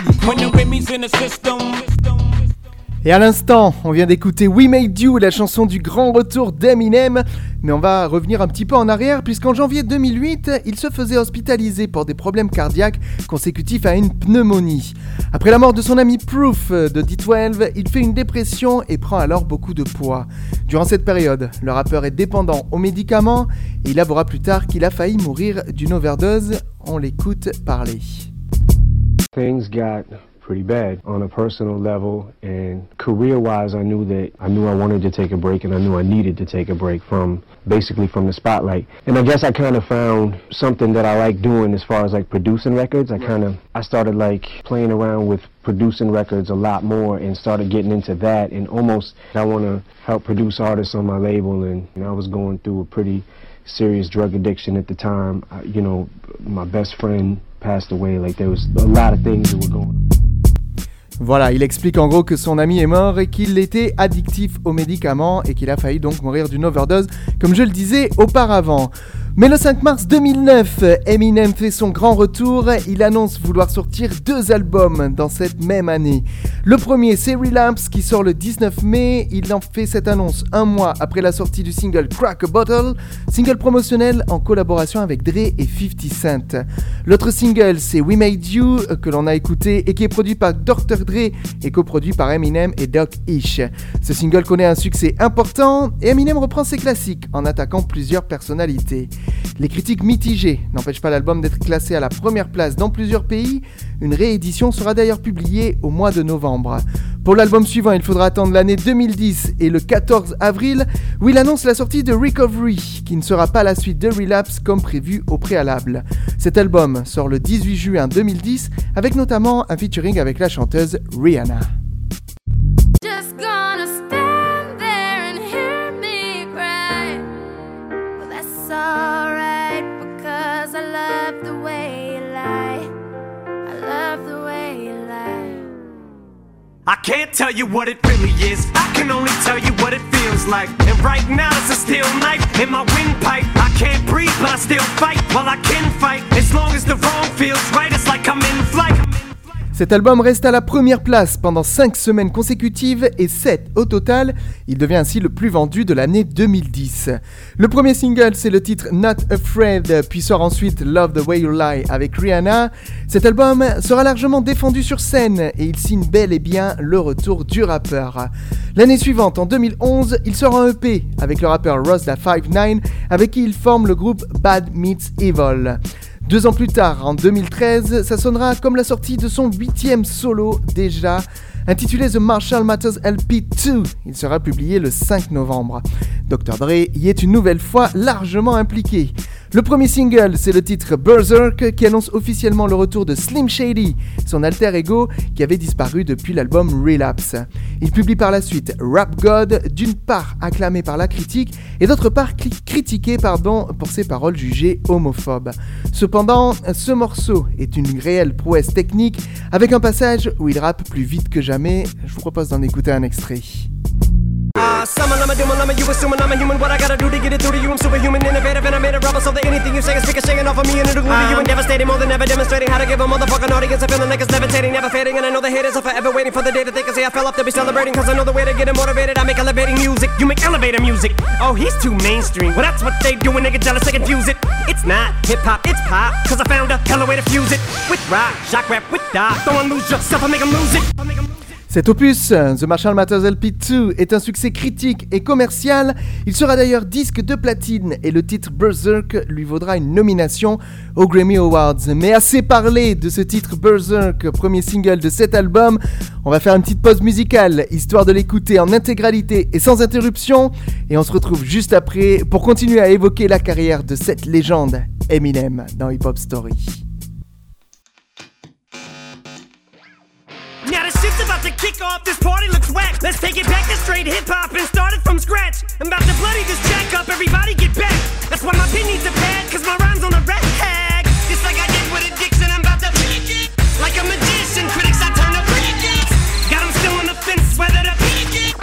Et à l'instant, on vient d'écouter We Made You, la chanson du grand retour d'Eminem. Mais on va revenir un petit peu en arrière, puisqu'en janvier 2008, il se faisait hospitaliser pour des problèmes cardiaques consécutifs à une pneumonie. Après la mort de son ami Proof de D12, il fait une dépression et prend alors beaucoup de poids. Durant cette période, le rappeur est dépendant aux médicaments et il avouera plus tard qu'il a failli mourir d'une overdose. On l'écoute parler. Things got pretty bad on a personal level, and career-wise, I knew I wanted to take a break, and I knew I needed to take a break from the spotlight. And I guess I kind of found something that I like doing as far as like producing records. I started like playing around with producing records a lot more and started getting into that, and almost I want to help produce artists on my label, and I was going through a pretty serious drug addiction at the time. My best friend passed away. Like there was a lot of things that were going on. Voilà, il explique en gros que son ami est mort et qu'il était addictif aux médicaments et qu'il a failli donc mourir d'une overdose, comme je le disais auparavant. Mais le 5 mars 2009, Eminem fait son grand retour. Il annonce vouloir sortir 2 albums dans cette même année. Le premier, c'est Relapse, qui sort le 19 mai. Il en fait cette annonce un mois après la sortie du single Crack a Bottle, single promotionnel en collaboration avec Dre et 50 Cent. L'autre single, c'est We Made You, que l'on a écouté et qui est produit par Dr. Dre et coproduit par Eminem et Doc Ish. Ce single connaît un succès important et Eminem reprend ses classiques en attaquant plusieurs personnalités. Les critiques mitigées n'empêchent pas l'album d'être classé à la première place dans plusieurs pays. Une réédition sera d'ailleurs publiée au mois de novembre. Pour l'album suivant, il faudra attendre l'année 2010 et le 14 avril où il annonce la sortie de Recovery, qui ne sera pas la suite de Relapse comme prévu au préalable. Cet album sort le 18 juin 2010 avec notamment un featuring avec la chanteuse Rihanna. Just gonna stand there and hear me cry. Well, that's alright, because I love the way you lie. I love the way you lie. I can't tell you what it really is. I can only tell you what it feels like. And right now it's a steel knife in my windpipe. I can't breathe, but I still fight. Well, I can fight as long as the wrong feels right. It's like I'm in flight. Cet album reste à la première place pendant 5 semaines consécutives et 7 au total. Il devient ainsi le plus vendu de l'année 2010. Le premier single, c'est le titre Not Afraid, puis sort ensuite Love the Way You Lie avec Rihanna. Cet album sera largement défendu sur scène et il signe bel et bien le retour du rappeur. L'année suivante, en 2011, il sort un EP avec le rappeur Ross Da 5'9", avec qui il forme le groupe Bad Meets Evil. 2 ans plus tard, en 2013, ça sonnera comme la sortie de son 8e solo déjà, intitulé The Marshall Mathers LP 2. Il sera publié le 5 novembre. Dr. Dre y est une nouvelle fois largement impliqué. Le premier single, c'est le titre Berserk, qui annonce officiellement le retour de Slim Shady, son alter ego qui avait disparu depuis l'album Relapse. Il publie par la suite Rap God, d'une part acclamé par la critique et d'autre part critiqué pour ses paroles jugées homophobes. Cependant, ce morceau est une réelle prouesse technique avec un passage où il rappe plus vite que jamais. Je vous propose d'en écouter un extrait. Summon, I'm a doom, I'm a you assuming I'm a human. What I gotta do to get it through to you? I'm superhuman, innovative, and I made a rubber so that anything you say is singing off of me and it'll glue to you and devastating, more than ever demonstrating how to give a motherfucking audience a feeling like it's levitating, never fading. And I know the haters are forever waiting for the day that they can say I fell off to be celebrating, cause I know the way to get them motivated. I make elevating music, you make elevator music. Oh, he's too mainstream. Well, that's what they do when they get jealous, they confuse it. It's not hip-hop, it's pop, cause I found a hella way to fuse it. With rock, shock rap, with dog. Don't lose yourself, I make them lose it. Cet opus, The Marshall Mathers LP 2, est un succès critique et commercial. Il sera d'ailleurs disque de platine et le titre Berserk lui vaudra une nomination aux Grammy Awards. Mais assez parlé de ce titre Berserk, premier single de cet album. On va faire une petite pause musicale, histoire de l'écouter en intégralité et sans interruption. Et on se retrouve juste après pour continuer à évoquer la carrière de cette légende, Eminem, dans Hip Hop Story. Now the shit's about to kick off, this party looks whack. Let's take it back to straight hip-hop and start it from scratch. I'm about to bloody this jack up, everybody get back. That's why my pin needs a pad, cause my rhyme's on a red tag. Just like I did with addiction, I'm about to freak it. Like a magician, critics I turn up freak it. Got them still on the fence, whether to peak it.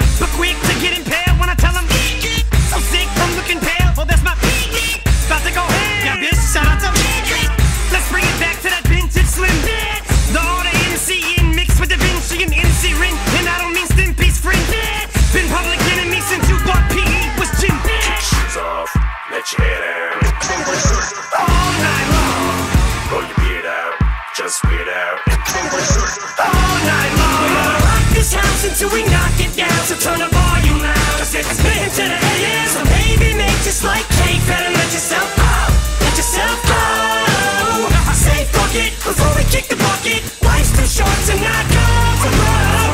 All night long, we're gonna rock this house until we knock it down. So turn the volume loud, 'cause it's spin to the AM. So baby, make just like cake, better let yourself go. Let yourself go. I say fuck it before we kick the bucket. Life's too short to not go for broke.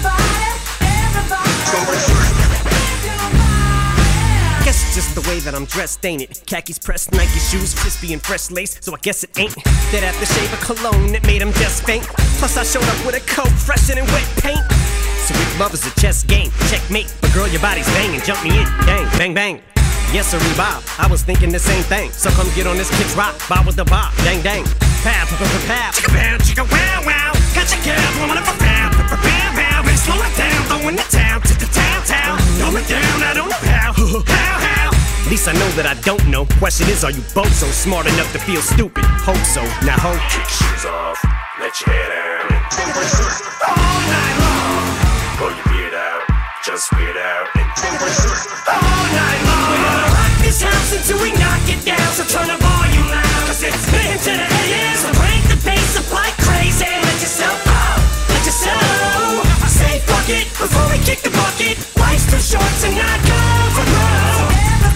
Guess it's just the way that I'm dressed, ain't it? Khakis pressed, Nike shoes, crispy and fresh lace. So I guess it ain't that aftershave of cologne that made him just faint. Plus I showed up with a coat fresher than wet paint. So if love is a chess game, checkmate. But girl, your body's banging, jump me in, bang, bang, bang. Yes, sir, Bob, I was thinking the same thing. So come get on this kid's rock, bob with the bob, dang, dang. Pow, pow, pow, pow, chicka pow, chicka wow, wow. Got your girl blowing up a pow, pow, pow, pow. Better slow it down, throwing the town to the town. Throw it down, I don't know how, how. At least I know that I don't know. Question is, are you both so smart enough to feel stupid? Hope so, now hope. Kick shoes off, let your hair down. All night long, pull your beard out, just weird out. All night long, we're gonna rock this house until we knock it down. So turn the volume loud, 'cause it's spin to the AM. So crank the bass up like crazy. Let yourself go, let yourself go. I say fuck it before we kick the bucket. Life's too short to not go for broke.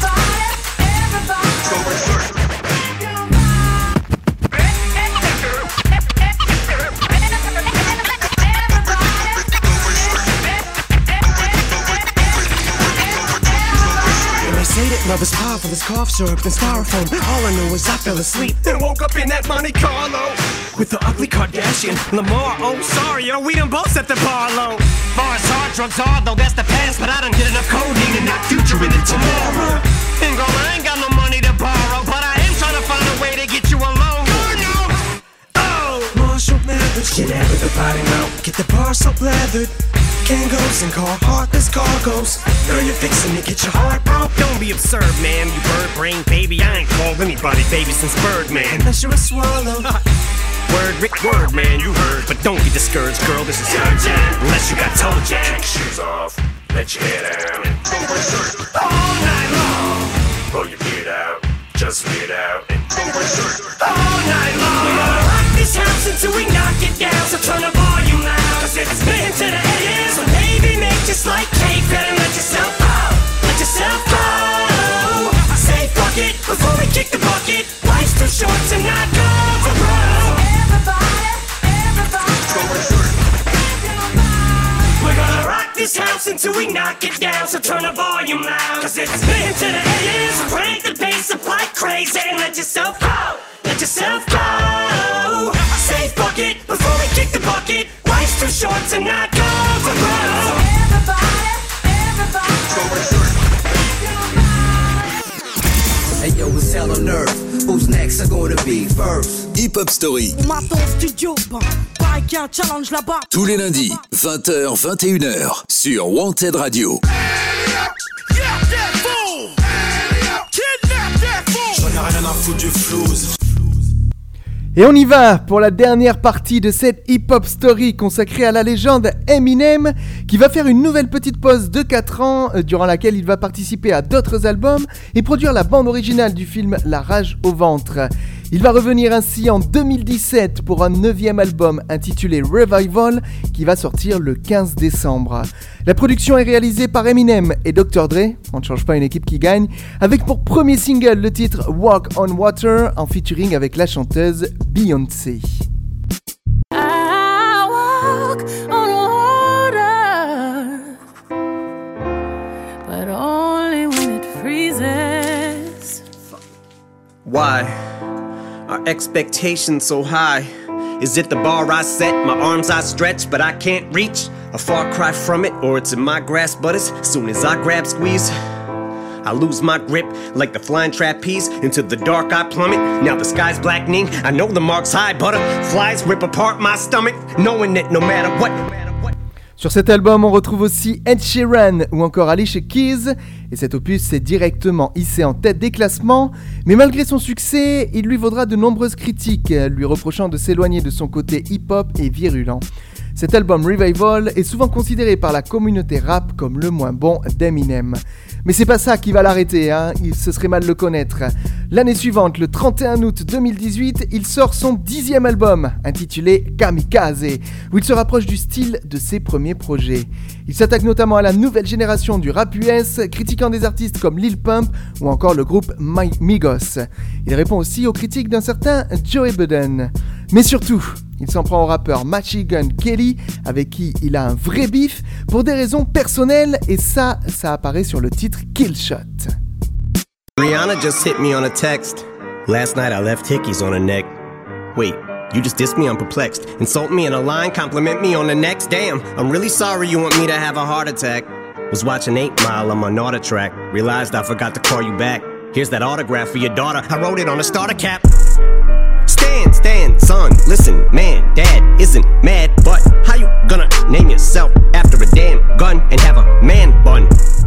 Say that love is powerful as cough syrup and styrofoam. All I know is I fell asleep and woke up in that Monte Carlo with the ugly Kardashian Lamar. Oh, sorry, yo, we done both set the bar low. Bars hard, drugs hard, though that's the past. But I done get enough codeine and not future in it tomorrow. And girl, I ain't got no money to borrow, but I am trying to find a way to get you alone. Oh, Marshall Mathers, get out with the body now. Get the bar so leathered. Kangos and heartless cargoes. Girl, you're fixing to get your heart broke. Don't be absurd, man, you bird brain baby. I ain't called anybody baby since Birdman. Unless you're a swallow. Word, Rick, word, man, you heard. But don't be discouraged, girl, this is urgent. Unless you got toe jam. Kick shoes off, let your hair down. All night long, pull your beard out, just weird out. All night long, we're gonna rock this house until we knock it down. So turn the volume loud, 'cause it's spin to the AM. So baby, make just like cake, better let yourself go. Let yourself go. I say fuck it before we kick the bucket. Life's too short to not go for broke. We're gonna rock this house until we knock it down. So turn the volume loud, 'cause it's spin to the AM. So crank the bass up like crazy and let yourself go. Let yourself go. I say fuck it before we kick the bucket. Life's too short to not go for broke. Hey yo, it's hell on earth. Who's next are gonna be first? Hip Hop Story. On m'attend au studio, pareil qu'il y a un challenge là-bas. Tous les lundis, 20h, 21h, sur Wanted Radio. J'en ai rien à foutre du flouze. Et on y va pour la dernière partie de cette hip-hop story consacrée à la légende Eminem, qui va faire une nouvelle petite pause de 4 ans, durant laquelle il va participer à d'autres albums et produire la bande originale du film La Rage au ventre. Il va revenir ainsi en 2017 pour un 9e album intitulé Revival qui va sortir le 15 décembre. La production est réalisée par Eminem et Dr. Dre, on ne change pas une équipe qui gagne, avec pour premier single le titre Walk on Water en featuring avec la chanteuse Beyoncé. I walk on water, but only when it freezes. Why are expectations so high? Is it the bar I set, my arms I stretch, but I can't reach? A far cry from it, or it's in my grasp, but as soon as I grab, squeeze, I lose my grip like the flying trapeze. Into the dark I plummet, now the sky's blackening. I know the mark's high, butterflies rip apart my stomach, knowing that no matter what. Sur cet album, on retrouve aussi Ed Sheeran ou encore Alicia Keys, et cet opus s'est directement hissé en tête des classements, mais malgré son succès, il lui vaudra de nombreuses critiques, lui reprochant de s'éloigner de son côté hip-hop et virulent. Cet album Revival est souvent considéré par la communauté rap comme le moins bon d'Eminem. Mais c'est pas ça qui va l'arrêter, hein, ce serait mal le connaître. L'année suivante, le 31 août 2018, il sort son 10e album, intitulé Kamikaze, où il se rapproche du style de ses premiers projets. Il s'attaque notamment à la nouvelle génération du rap US, critiquant des artistes comme Lil Pump ou encore le groupe Migos. Il répond aussi aux critiques d'un certain Joey Budden. Mais surtout, il s'en prend au rappeur Machine Gun Kelly, avec qui il a un vrai bif, pour des raisons personnelles, et ça apparaît sur le titre Kill Shot. Rihanna just hit me on a text. Last night I left hickeys on her neck. Wait, you just dissed me? I'm perplexed. Insult me in a line, compliment me on the next. Damn, I'm really sorry you want me to have a heart attack. Was watching 8 Mile on my Nauta track. Realized I forgot to call you back. Here's that autograph for your daughter. I wrote it on a starter cap. Stand, son, listen, man, dad isn't mad, but how you gonna name yourself after a damn gun and have a man bun?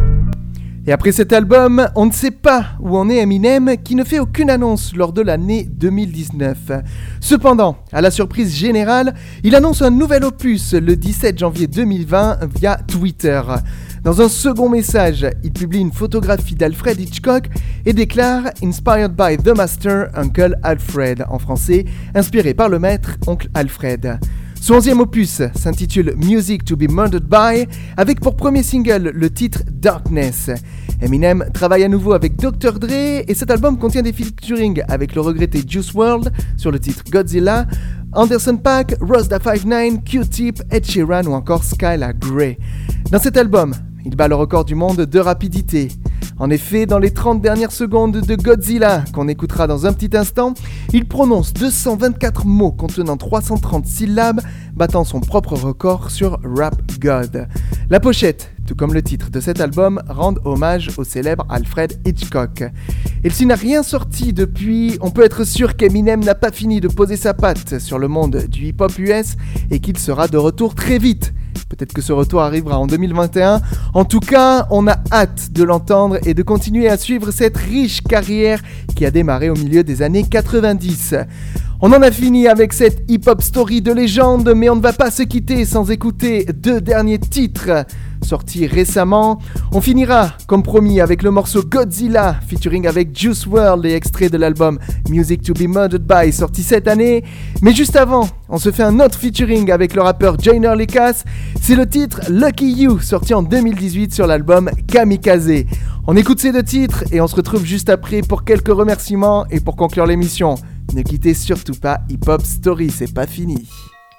Et après cet album, on ne sait pas où en est Eminem, qui ne fait aucune annonce lors de l'année 2019. Cependant, à la surprise générale, il annonce un nouvel opus le 17 janvier 2020 via Twitter. Dans un second message, il publie une photographie d'Alfred Hitchcock et déclare « Inspired by the Master, Uncle Alfred », en français, inspiré par le maître, Oncle Alfred. Son 11e opus s'intitule Music to be Murdered by, avec pour premier single le titre Darkness. Eminem travaille à nouveau avec Dr. Dre et cet album contient des featuring avec le regretté Juice WRLD sur le titre Godzilla, Anderson .Paak, Ross Da 5'9", Q-Tip, Ed Sheeran ou encore Skylar Grey. Dans cet album, il bat le record du monde de rapidité. En effet, dans les 30 dernières secondes de Godzilla, qu'on écoutera dans un petit instant, il prononce 224 mots contenant 330 syllabes, battant son propre record sur Rap God. La pochette, tout comme le titre de cet album, rendent hommage au célèbre Alfred Hitchcock. Et s'il n'a rien sorti depuis, on peut être sûr qu'Eminem n'a pas fini de poser sa patte sur le monde du hip-hop US et qu'il sera de retour très vite. Peut-être que ce retour arrivera en 2021. En tout cas, on a hâte de l'entendre et de continuer à suivre cette riche carrière qui a démarré au milieu des années 90. On en a fini avec cette hip-hop story de légende, mais on ne va pas se quitter sans écouter 2 derniers titres sortis récemment. On finira, comme promis, avec le morceau Godzilla, featuring avec Juice WRLD et extrait de l'album Music to be Murdered by, sorti cette année. Mais juste avant, on se fait un autre featuring avec le rappeur Joyner Lucas. C'est le titre Lucky You, sorti en 2018 sur l'album Kamikaze. On écoute ces 2 titres et on se retrouve juste après pour quelques remerciements et pour conclure l'émission. Ne quittez surtout pas Hip Hop Story, c'est pas fini.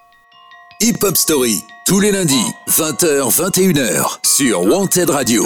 Hip Hop Story, tous les lundis, 20h-21h, sur Wanted Radio.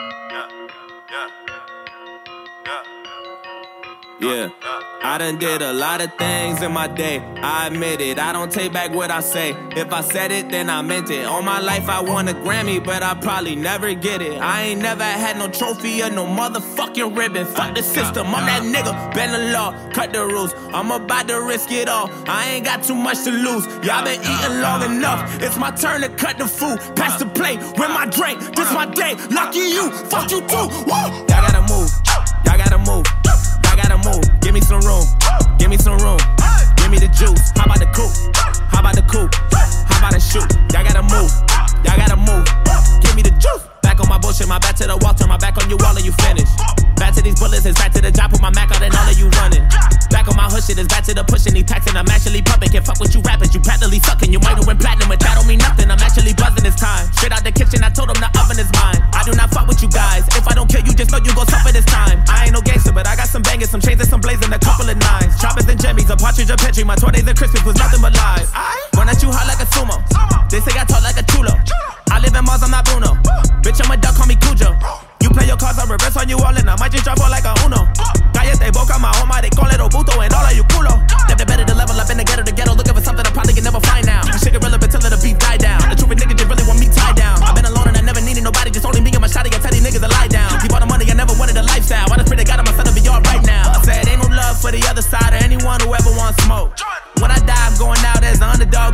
Yeah, I done did a lot of things in my day, I admit it, I don't take back what I say. If I said it, then I meant it. All my life I won a Grammy, but I probably never get it. I ain't never had no trophy or no motherfucking ribbon. Fuck the system, I'm that nigga, bend the law, cut the rules. I'm about to risk it all, I ain't got too much to lose. Y'all been eating long enough, it's my turn to cut the food. Pass the plate, with my drink, this my day. Lucky you, fuck you too, woo! Y'all gotta move, y'all gotta move. Gotta move, give me some room, give me some room, give me the juice. How about the coupe? How about the coupe? How about the shoot? Y'all gotta move, y'all gotta move, give me the juice. Back on my bullshit, my back to the wall, turn my back on you, all of you finish. Back to these bullets, it's back to the job, put my Mac out and all of you running. Back on my hood shit, it's back to the pushing, these taxing, I'm actually pumping. Can't fuck with you rappers, you practically sucking. You might have went platinum, but that don't mean nothing, I'm actually buzzing this time. Straight out the kitchen, I told them the oven is mine. I do not fuck with you guys, if I don't kill you, just know you gon' suffer this time. I ain't no gangster, but I got some bangers, some chains and some blazing, a couple of nines. Choppers and jimmies, a partridge, a petri, my 20s and Christmas was nothing but lies. Run at you hot like a sumo, they say I talk like a chulo. I live in Mars, I'm not Bruno. Bitch, I'm a duck, call me Cujo. You play your cards, I reverse on you all and I might just drop all like a Uno. Cállate boca, my home, they call it Obuto and all of you culo. Never better to level up in the ghetto, looking for something I probably can never find now. This shit irrelevant till the beat die down. The truth is niggas just really want me tied down. I've been alone and I never needed nobody, just only me and my shawty. I tell these niggas to lie down. Keep all the money, I never wanted a lifestyle. I just pray to God I'm son to be all right now. I said ain't no love for the other side or anyone who ever wants smoke. When I die, I'm going out as the underdog.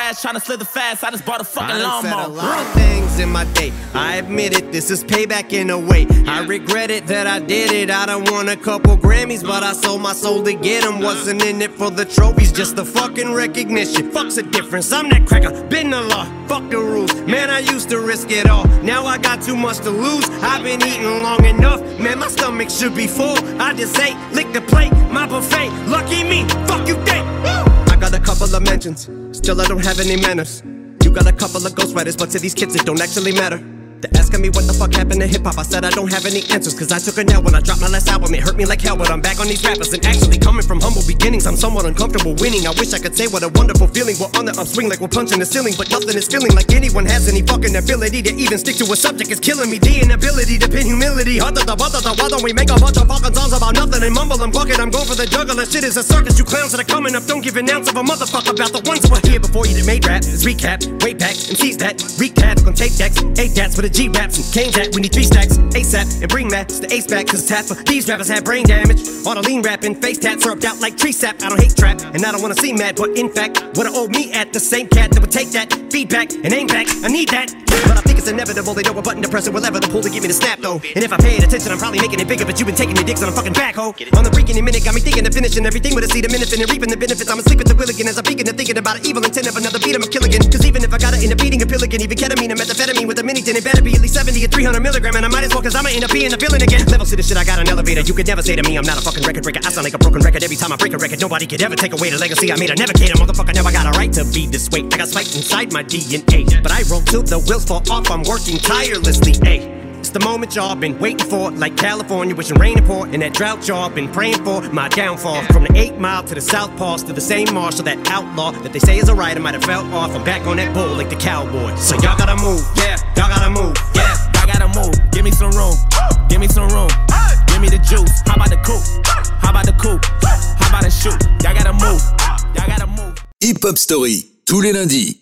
ass, tryna slither fast. I just bought a fucking I done said lawnmower. a lot of things in my day. I admit it, this is payback in a way. I regret it that I did it. I done won a couple Grammys, but I sold my soul to get them. Wasn't in it for the trophies, just the fucking recognition. Fuck's the difference, I'm that cracker, been the law. Fuck the rules, man, I used to risk it all. Now I got too much to lose. I've been eating long enough, man, my stomach should be full. I just ate, lick the plate, my buffet. Lucky me, fuck you think. I got a couple of mentions, still I don't have any manners. You got a couple of ghostwriters, but to these kids it don't actually matter. They're asking me what the fuck happened to hip-hop. I said I don't have any answers, cause I took a L when I dropped my last album. It hurt me like hell, but I'm back on these rappers. And actually coming from humble beginnings, I'm somewhat uncomfortable winning. I wish I could say what a wonderful feeling. We're on the upswing like we're punching the ceiling, but nothing is feeling like anyone has any fucking ability to even stick to a subject. It's killing me, the inability to pin humility. Why don't we make a bunch of fucking songs about nothing and mumble and bucket? I'm going for the juggler, shit is a circus. You clowns that are coming up don't give an ounce of a motherfucker about the ones who were here before you that made rap. Let's recap, way back, MCs that recap on tape decks, 8 dats for the G-raps and K that we need 3 stacks ASAP and bring that to the ace back, cause it's half of these rappers have brain damage. On a lean rapping, face tat syrup out like tree sap. I don't hate trap and I don't wanna seem mad, but in fact would've owed me at the same cat that would take that feedback and aim back. I need that, but I think it's inevitable. They know a button to press it, whatever the pull to give me the snap though. And if I paid attention, I'm probably making it bigger, but you've been taking your dicks on a fucking backhoe. On the freaking minute, got me thinking of finishing everything with a seed of minute and reaping the benefits. I'm asleep at the wheel again as I'm beginning to thinking about an evil intent of another beat. I'm a kill again, cause even if I gotta end up eating a pill again, even ketamine or methamphetamine with a mini, then it better be at least 70 or 300 milligram, and I might as well, cause I'ma end up being a villain again. Levels to this shit, I got an elevator. You could never say to me I'm not a fucking record breaker. I sound like a broken record every time I break a record. Nobody could ever take away the legacy I made. I never cater, motherfucker, never got a right to be this way. I got spiked inside my DNA, but I roll till the wheels fall off. I'm working tirelessly, ayy. It's the moment y'all been waiting for, like California wishing rain to pour, and that drought y'all been praying for. My downfall, from the 8 Mile to the South Pass to the same marshal, that outlaw that they say is a writer might have fell off. I'm back on that bull like the cowboy. So y'all gotta move, yeah, y'all gotta move, yeah. I gotta move, give me some room, give me some room, give me the juice. How about the coupe? How about the coupe? How about the shoot? Y'all gotta move, y'all gotta move. Hip Hop Story, tous les lundis,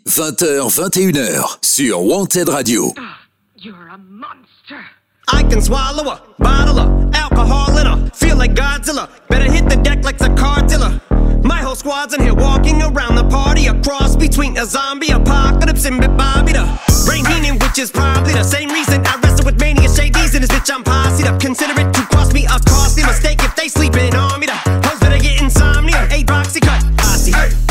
20h-21h, sur Wanted Radio. You're a monster. I can swallow a bottle of alcohol in her. Feel like Godzilla. Better hit the deck like the cartilla. My whole squad's in here walking around the party. A cross between a zombie apocalypse and Bobby the brain meaning, which is probably the same reason I wrestle with mania shades in this bitch. I'm posseed up. Consider it to cost me a costly mistake if they sleeping on me. The hoes better get insomnia. 8 boxy cut. Posse.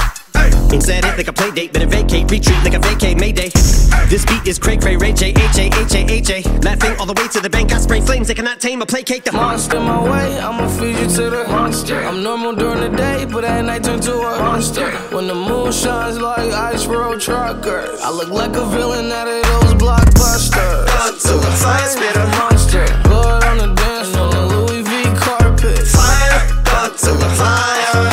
Instead it like a play date, better vacate, retreat like a vacay Mayday. This beat is cray cray, Ray J, H-A-H-A-H-A. Laughing all the way to the bank, I spray flames, they cannot tame or placate the monster my way, I'ma feed you to the monster. I'm normal during the day, but at night turn to a monster. When the moon shines like ice road truckers, I look like a villain out of those blockbusters. Thug to the fire, spit a monster. Blood on the dance on the Louis V carpet. Fire, thug to the fire.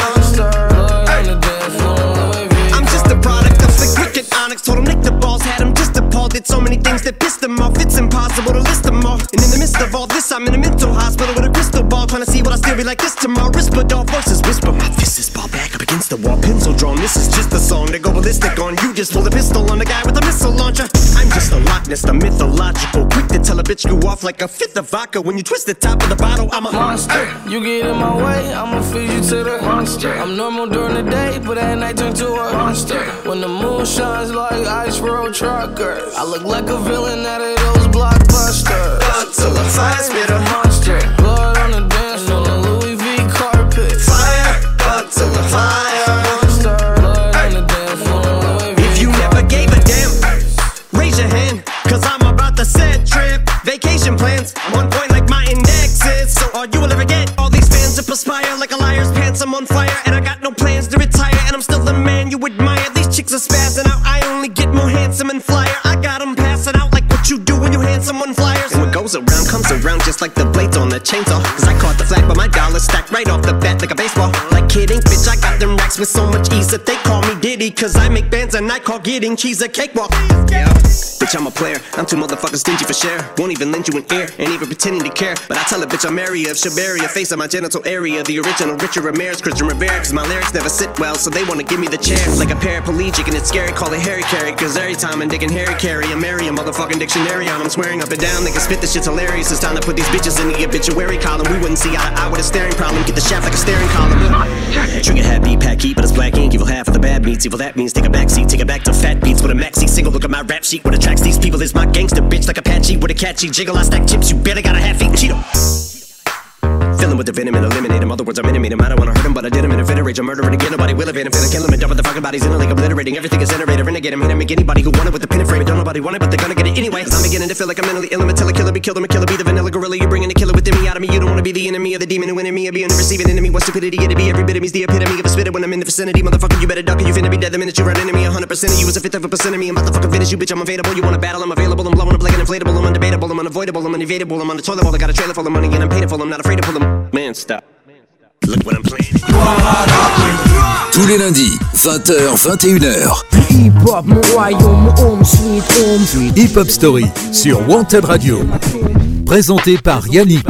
Told him lick the balls, had him just appalled. Did so many things that pissed him off. It's impossible to list them all. And in the midst of all this, I'm in a mental hospital with a crystal ball, trying to see what I still be like this tomorrow. Rispadol voices whisper, my fist is ball back up against the wall, pencil drawn. This is just a song to go ballistic on. You just pull a pistol on the guy with a missile launcher. I'm just a Loch Ness, the mythological, quick to tell a bitch you off like a fifth of vodka. When you twist the top of the bottle, I'm a monster. You get in my way, I'ma feed you to the monster. I'm normal during the day, but at night turn to a monster. When the moon shines like ice road truckers, I look like a villain out of those blockbusters. Thug to the fire, spit a monster. Blood on the dance on the Louis V carpet. Fire, thug to the fire. Monster. Blood on the dance on the Louis V. If you never gave a damn, raise your hand, cause I'm about to set trip. Vacation plans, I'm on point like my index is. So all you will ever get, all these fans that perspire like a liar's pants. I'm on fire and I got no plans to retire, and I'm still the man you admire. These chicks are spazzing out, I only get more handsome and flyer. I got them passing out like what you do when you hand someone flyers. And what goes around comes around just like the blades on the chainsaw. Cause I caught the flag but my dollar's stacked right off the bat like a baseball. Like kidding, bitch, I got them racks with so much ease that they call me Diddy. Cause I make bands and I call getting cheese a cakewalk. Yeah, bitch, I'm a player, I'm too motherfucking stingy for share. Won't even lend you an ear, ain't even pretending to care. But I tell a bitch I'm area of Shabaria, face of my genital area. The original Richard Ramirez, Christian Rivera. Cause my lyrics never sit well, so they wanna give me the chair. Like a paraplegic and it's scary, call it Harry Carry. Cause every time I'm digging Harry Carry, I'm marry a motherfucking dictionary on. I'm swearing up and down, they can spit this shit's hilarious. It's time to put these bitches in the obituary column. We wouldn't see eye to eye with a staring problem. Get the shaft like a staring column. Trigger happy, pack heat, but it's black ink. Evil half of the bad bad meets evil, that means take a backseat. Take it back to fat beats with a maxi single. Look at my rap sheet. What attracts these people is my gangster bitch like Apache with a catchy jiggle. I stack chips, you barely got a half-eaten Cheeto. Fill him with the venom and eliminate him. Other words, I'm intimate him. I don't wanna hurt him, but I did him in a fit of rage. I'm murdering again, nobody will evade him. Finna kill him and dump the fucking bodies in a lake, obliterating everything is generated. Renegade him, hit him, make anybody who want it with the pin and frame. Don't nobody want it, but they're gonna get it anyway. I'm beginning to feel like I'm mentally ill. I'm until a killer be killed. I'm a killer, be the vanilla gorilla. You're bringing the killer within me out of me. You don't wanna be the enemy of the demon who in me. Or be an receiving enemy. What stupidity it'd be. Every bit of me's the epitome of a spitter when I'm in the vicinity. Motherfucker, you better duck or you finna be dead the minute you run into me. 100% of you is a fifth of a percent of me. I'm about to fucking finish you, bitch. I'm available. You wanna battle? I'm available. I'm blowing up like an inflatable. I'm undebatable. I'm unavoidable. I'm unevadable. I'm on the toilet bowl. I got a trailer full of money and I'm paid for. I'm not afraid to pull them. Man, stop. Look what I'm playing. Tous les lundis, 20h, 21h. Hip-hop, mon royaume, mon home, sweet home. Hip Hop Story sur Wanted Radio. Présenté par Yannick.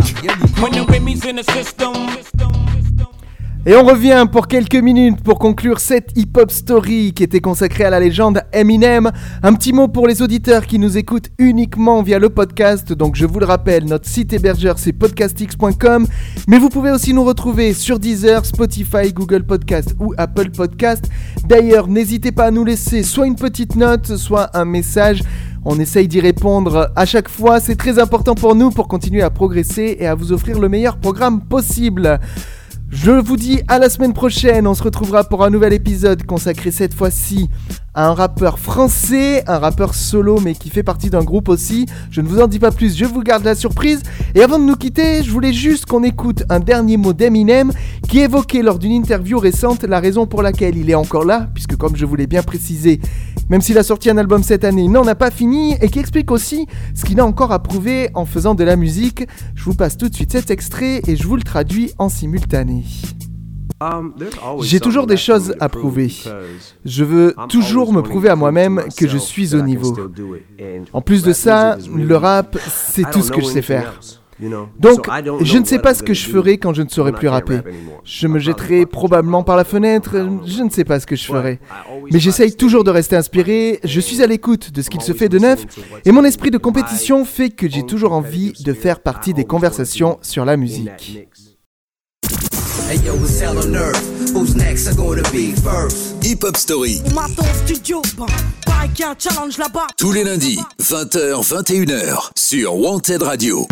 Et on revient pour quelques minutes pour conclure cette hip-hop story qui était consacrée à la légende Eminem. Un petit mot pour les auditeurs qui nous écoutent uniquement via le podcast. Donc je vous le rappelle, notre site hébergeur c'est podcastx.com. Mais vous pouvez aussi nous retrouver sur Deezer, Spotify, Google Podcast ou Apple Podcast. D'ailleurs, n'hésitez pas à nous laisser soit une petite note, soit un message. On essaye d'y répondre à chaque fois. C'est très important pour nous pour continuer à progresser et à vous offrir le meilleur programme possible. Je vous dis à la semaine prochaine, on se retrouvera pour un nouvel épisode consacré cette fois-ci à un rappeur français, un rappeur solo mais qui fait partie d'un groupe aussi. Je ne vous en dis pas plus, je vous garde la surprise. Et avant de nous quitter, je voulais juste qu'on écoute un dernier mot d'Eminem qui évoquait lors d'une interview récente la raison pour laquelle il est encore là, puisque comme je vous l'ai bien précisé, même s'il a sorti un album cette année, il n'en a pas fini et qui explique aussi ce qu'il a encore à prouver en faisant de la musique. Je vous passe tout de suite cet extrait et je vous le traduis en simultané. J'ai toujours des choses à prouver. Je veux toujours me prouver à moi-même que je suis au niveau. En plus de ça, le rap, c'est tout ce que je sais faire. Donc, je ne sais pas ce que je ferai quand je ne saurai plus rapper. Je me jetterai probablement par la fenêtre, je ne sais pas ce que je ferai. Mais j'essaye toujours de rester inspiré, je suis à l'écoute de ce qu'il se fait de neuf, et mon esprit de compétition fait que j'ai toujours envie de faire partie des conversations sur la musique. Hey yo, it's hell on earth. Who's next are gonna be first? Hip Hop Story. On m'attend au studio, pareil qu'il y a un challenge là-bas. Tous les lundis, 20h, 21h sur Wanted Radio.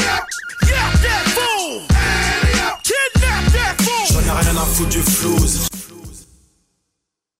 J'en ai rien à foutre du flouze.